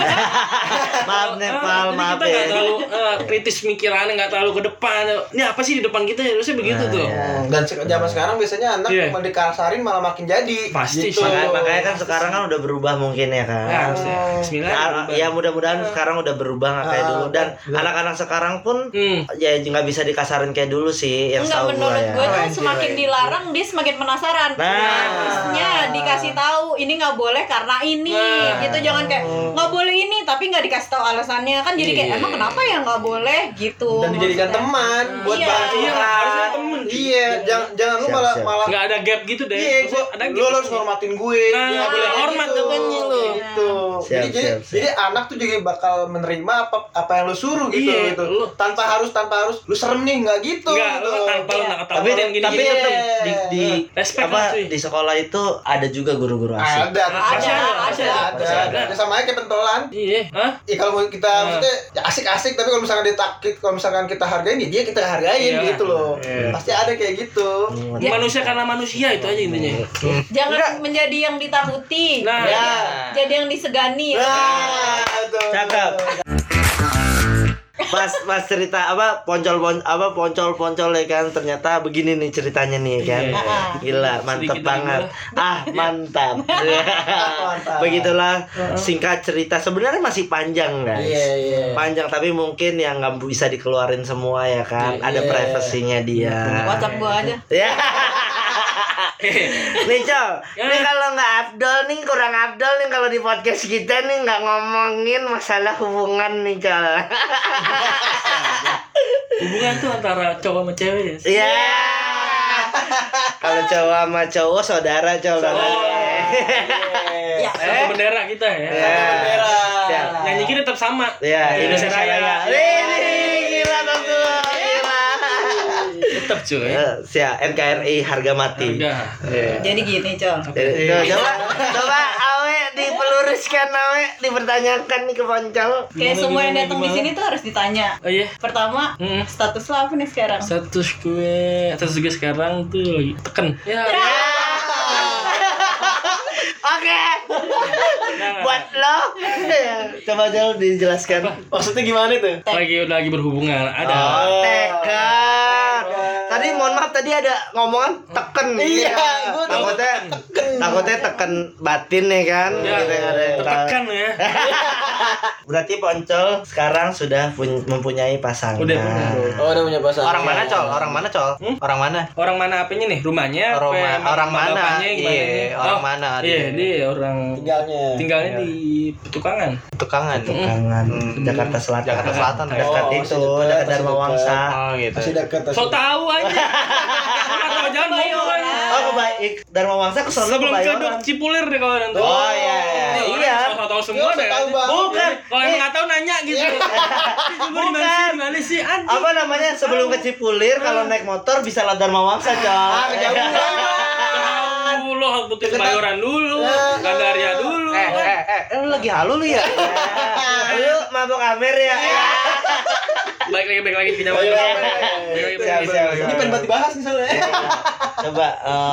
Maaf Nepal, maaf kita nggak terlalu kritis mikirannya, nggak terlalu ke depan. Ini apa sih di depan kita, harusnya begitu tuh. Dan zaman sekarang biasanya anak mau dikasarin malah makin jadi. Pasti gitu. Makanya kan sekarang kan udah berubah mungkin ya kan. Bismillah. Ya mudah-mudahan sekarang udah berubah nggak kayak dulu, dan anak-anak sekarang pun ya nggak bisa dikasarin kayak dulu sih yang Enggak, tahu menurut ya. gue tuh semakin dilarang dia semakin penasaran. Harusnya dikasih tahu ini nggak boleh karena ini gitu, jangan kayak nggak boleh ini tapi nggak dikasih tahu alasannya kan, jadi kayak emang kenapa ya nggak boleh gitu. Dan dijadikan teman buat bantu. Harusnya temen. Iya, jangan lu malah nggak ada gap gitu deh. Iya, ada lu harus hormatin gue. Dia nggak boleh hormat katanya lu. Gitu. Jadi anak tuh juga bakal menerima apa yang lu suruh gitu. Iya, gitu. Tanpa harus lu serem nih, nggak gitu. Enggak, lu tanpa lu nggak ketahuan yang gini. Tapi tetap di respect apa cuy. di sekolah itu ada juga guru-guru asik. Ada. Sama aja kayak pentolan. Iya, Ya kalau kita maksudnya ya asik-asik, tapi kalau misalkan kita hargain ya dia kita hargain gitu loh. Pasti ada kayak gitu. Manusia karena manusia itu aja intinya. Jangan menjadi yang ditakuti. Jadi yang disegani. Cakep. Pas cerita poncol ya kan, ternyata begini nih ceritanya nih kan. Gila, mantap banget. Mantap. Begitulah singkat cerita, sebenarnya masih panjang guys. Panjang, tapi mungkin yang nggak bisa dikeluarin semua ya kan. Ada privasinya dia. WhatsApp gua aja. Ya. Nih Col, nih kalau nggak Abdol nih, kurang Abdol nih kalau di podcast kita nih nggak ngomongin masalah hubungan nih Col. Hubungan tuh antara cowok sama cewek ya? Iya. Kalau cowok sama cowok saudara Col. Ya. Satu bendera kita ya. Bendera. Nyanyi kita tetap sama. Iya, Indonesia Raya. Gila tentu. Gila. Tetap cuy. Siap, NKRI harga mati. Jadi gini, Col. Coba Awe dipeluruskan, Awe dipertanyakan nih ke Poncol. Kayak semua yang datang di sini tuh harus ditanya. Oh iya. Pertama, status lo apa nih sekarang? Status gue sekarang tuh lagi teken. Ya. Oke. Buat lo. Coba Jol dijelaskan. Maksudnya gimana itu? Lagi berhubungan. Ada. Tekan. Tadi mohon maaf tadi ada ngomongan teken. Iya, gua takutnya teken batin ya kan. Ya, tekan ya. Berarti Poncol sekarang sudah mempunyai pasangan. Udah punya. Oh, udah punya pasangan. Orang mana, Col? Orang mana, Col? Orang mana? Orang mana apanya nih? Rumahnya? Orang mana? Bapaknya gimana Iya, nih? orang mana? Iya, dia orang tinggalnya di Petukangan. Tukangan. Jakarta Selatan. Jakarta Selatan. Dekat Oh, itu, masih dekat dekat, Dharma masih Wangsa. Oh gitu. masih dekat. So tahu aja. Atau jangan ngomong. Oh, kebaik. Dharma Wangsa ke sono Sebelum ke Kebayoran. Cipulir deh kalau nanti. Oh iya. Iya. Tahu semua deh. Tahu banget. Bukan. Kalau emang nggak tahu nanya gitu. Bukan. Gimana sih? Anjing. Apa namanya? Sebelum ke Cipulir kalau naik motor bisa lewat Dharma Wangsa, Col. Kejauhan. Lo butuh Kebayoran dulu, Gandaria dulu. Lu lagi halu lu ya? Lu mabok Amer ya? Baik lagi ke Jawa. Siap. Ini pengen banget dibahas nih soalnya. Coba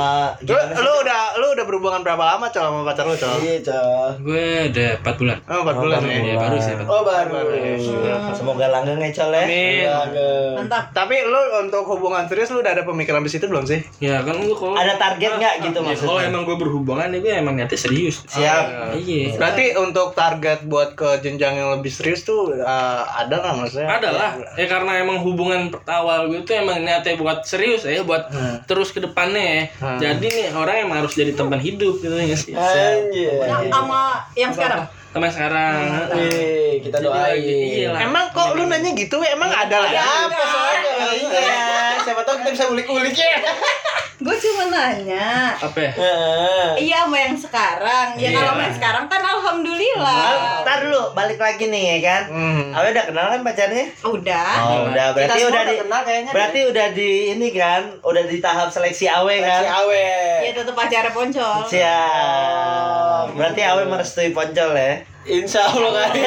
Lu udah berhubungan berapa lama, Col, sama pacar lu, Col? Iya, Col. Gue udah 4 bulan. Oh, 4 bulan ya. Iya, baru sih. Oh, baru. Semoga langgeng ya, Col ya. Amin. Mantap. Tapi lu untuk hubungan serius lu udah ada pemikiran di situ belum sih? Ya kan gue kalau Ada target nggak gitu ya, maksudnya? kalau emang gue berhubungan ya gue emang niatnya serius. Siap. Iya. Berarti untuk target buat ke jenjang yang lebih serius tuh ada nggak maksudnya? Ada lah. Ya karena emang hubungan awal gue tuh emang niatnya buat serius ya, buat terus ke depannya ya. Jadi nih orang emang harus jadi teman hidup gitu ya sih. Anjir. Sama yang sekarang. Teman sekarang. Kita doain. Iya lah. Emang kok lu nanya gitu? Emang ada lagi? Apa soalnya? Iya, siapa tahu kita bisa ulik-ulik ya. Gue cuma nanya. Apa ya? Iya sama yang sekarang. Ya kalau sama yang sekarang kan alhamdulillah. Ntar dulu balik lagi nih ya kan. Awe udah kenal kan pacarnya? Udah. Oh, udah berarti Kita udah semua di kenal kayaknya. berarti udah di ini kan, udah di tahap seleksi Awe kan. Si Awe. Ya tetap pacarnya Poncol. Siap. Berarti Awe merestui Poncol ya. Insya Allah kali.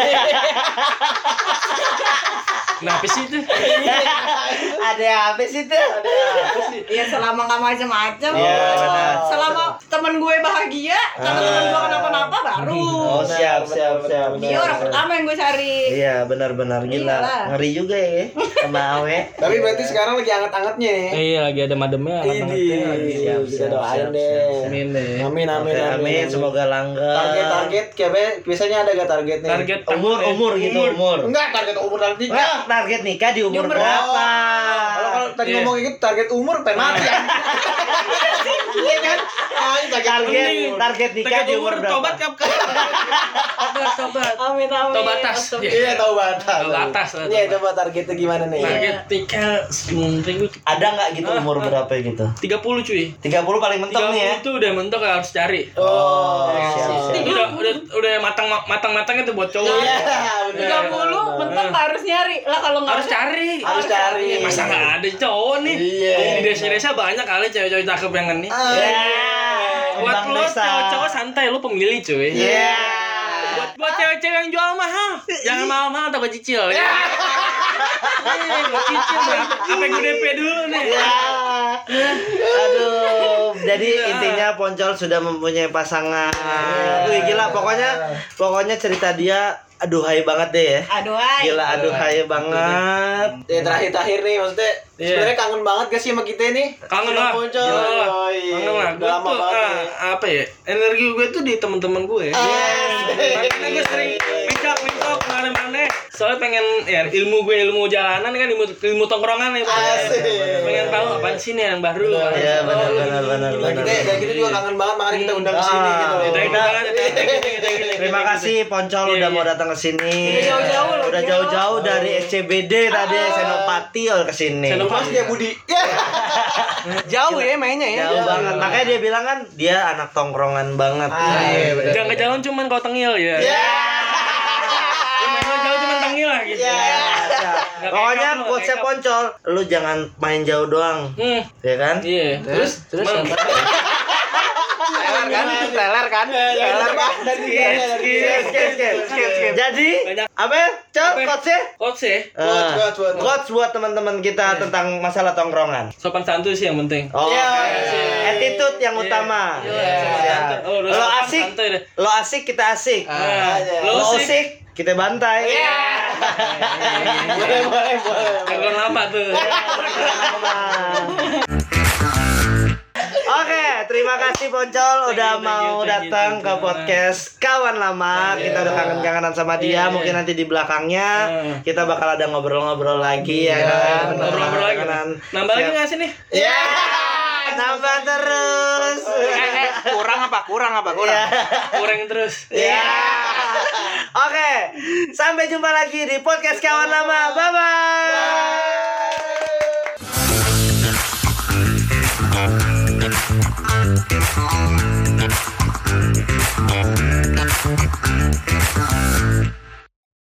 Kenapa sih itu? Ada apa sih tuh? Ya selama nggak macam-macam. Iya, benar. Selama temen gue bahagia, kalau temen gue kenapa-napa baru. Oh, siap. Dia orang pertama yang gue cari. Iya, benar-benar gila. Iyalah. Ngeri juga ya sama Awe. Tapi berarti sekarang lagi anget-angetnya nih. Iya lagi ada mademnya. Siap, kita doain deh. Amin deh. Amin. Semoga langgeng. Target kayak biasanya ada gak targetnya? Target umur gitu, umur. Enggak, target umur nanti. Enggak, target nikah di umur Umur berapa? Kalau tadi ngomong gitu target umur pengen mati. Iya kan? Target nikah di umur berapa? Tobat kapan? Tobat. Amin. Tobatas. Iya, tahu batas. Batas. Iya, coba targetnya gimana nih? Target nikah ribu. Ada nggak gitu umur berapa gitu? 30 cuy. 30 paling mentok 30 nih ya. itu udah mentok harus cari. Oh, Siap. Udah matang-matangnya tuh buat cowok. Iya, 30 mentok harus nyari. Lah kalau nggak Harus cari. Harus cari. Masa nggak ada cowok nih? Iya. Di desa-desa banyak kali cewek-cewek cakep yang ini. Buat Bang lo Desa. cowok-cowok santai lo pemilih cuy. Iya. Buat cewek-cewek yang jual mahal, jangan mahal-mahal takut cicil. Ya. Mau cicil apa gue DP dulu nih. Aduh, jadi intinya Poncol sudah mempunyai pasangan. Wih gila, pokoknya cerita dia aduhai banget deh ya. Aduhai. Gila aduhai banget. Ya terakhir nih maksudnya sebenarnya kangen banget gak sih sama kita nih? Kangen lah. Poncol. Kangen lah. Gue Udah lama tuh banget nih. apa ya? Energi gue tuh di teman-teman gue. Makanya gue sering mencok kemana-mana. Soalnya pengen ya ilmu jalanan kan ilmu tongkrongan nih Pak. Pengen tahu apaan sih nih yang baru. Iya benar. Dan kita juga kangen banget makanya kita undang ke sini gitu. Terima kasih Poncol udah mau datang ke sini. Udah jauh-jauh dari SCBD tadi Senopati ke sini. Mas dia Budi. Jauh ya mainnya ya. Jauh banget. Makanya dia bilang kan dia anak tongkrongan banget. Jangan ke jalan cuman kau tengil ya. Main jauh cuman tengil lah gitu. Pokoknya quotes-nya Poncol, lu jangan main jauh doang. Ya kan? Iya. Terus Teler kan? Skip. Jadi apa ya? Quotes-nya? Quotes buat teman-teman kita tentang masalah tongkrongan. Sopan santuy sih yang penting. Attitude yang utama. Lo asik kita asik. Lo asik kita bantai. Boleh. Kalau lama tuh. Oke, terima kasih Poncol udah mau datang ke podcast Kawan Lama. Kita udah kangen-kangenan sama dia. Mungkin nanti di belakangnya kita bakal ada ngobrol-ngobrol lagi ya kan. Ngobrol lagi. Nambah lagi nggak sih nih? Ya, nambah terus. Kurang apa? Kurang terus. Ya. Oke, sampai jumpa lagi di podcast Kawan Lama. Bye bye.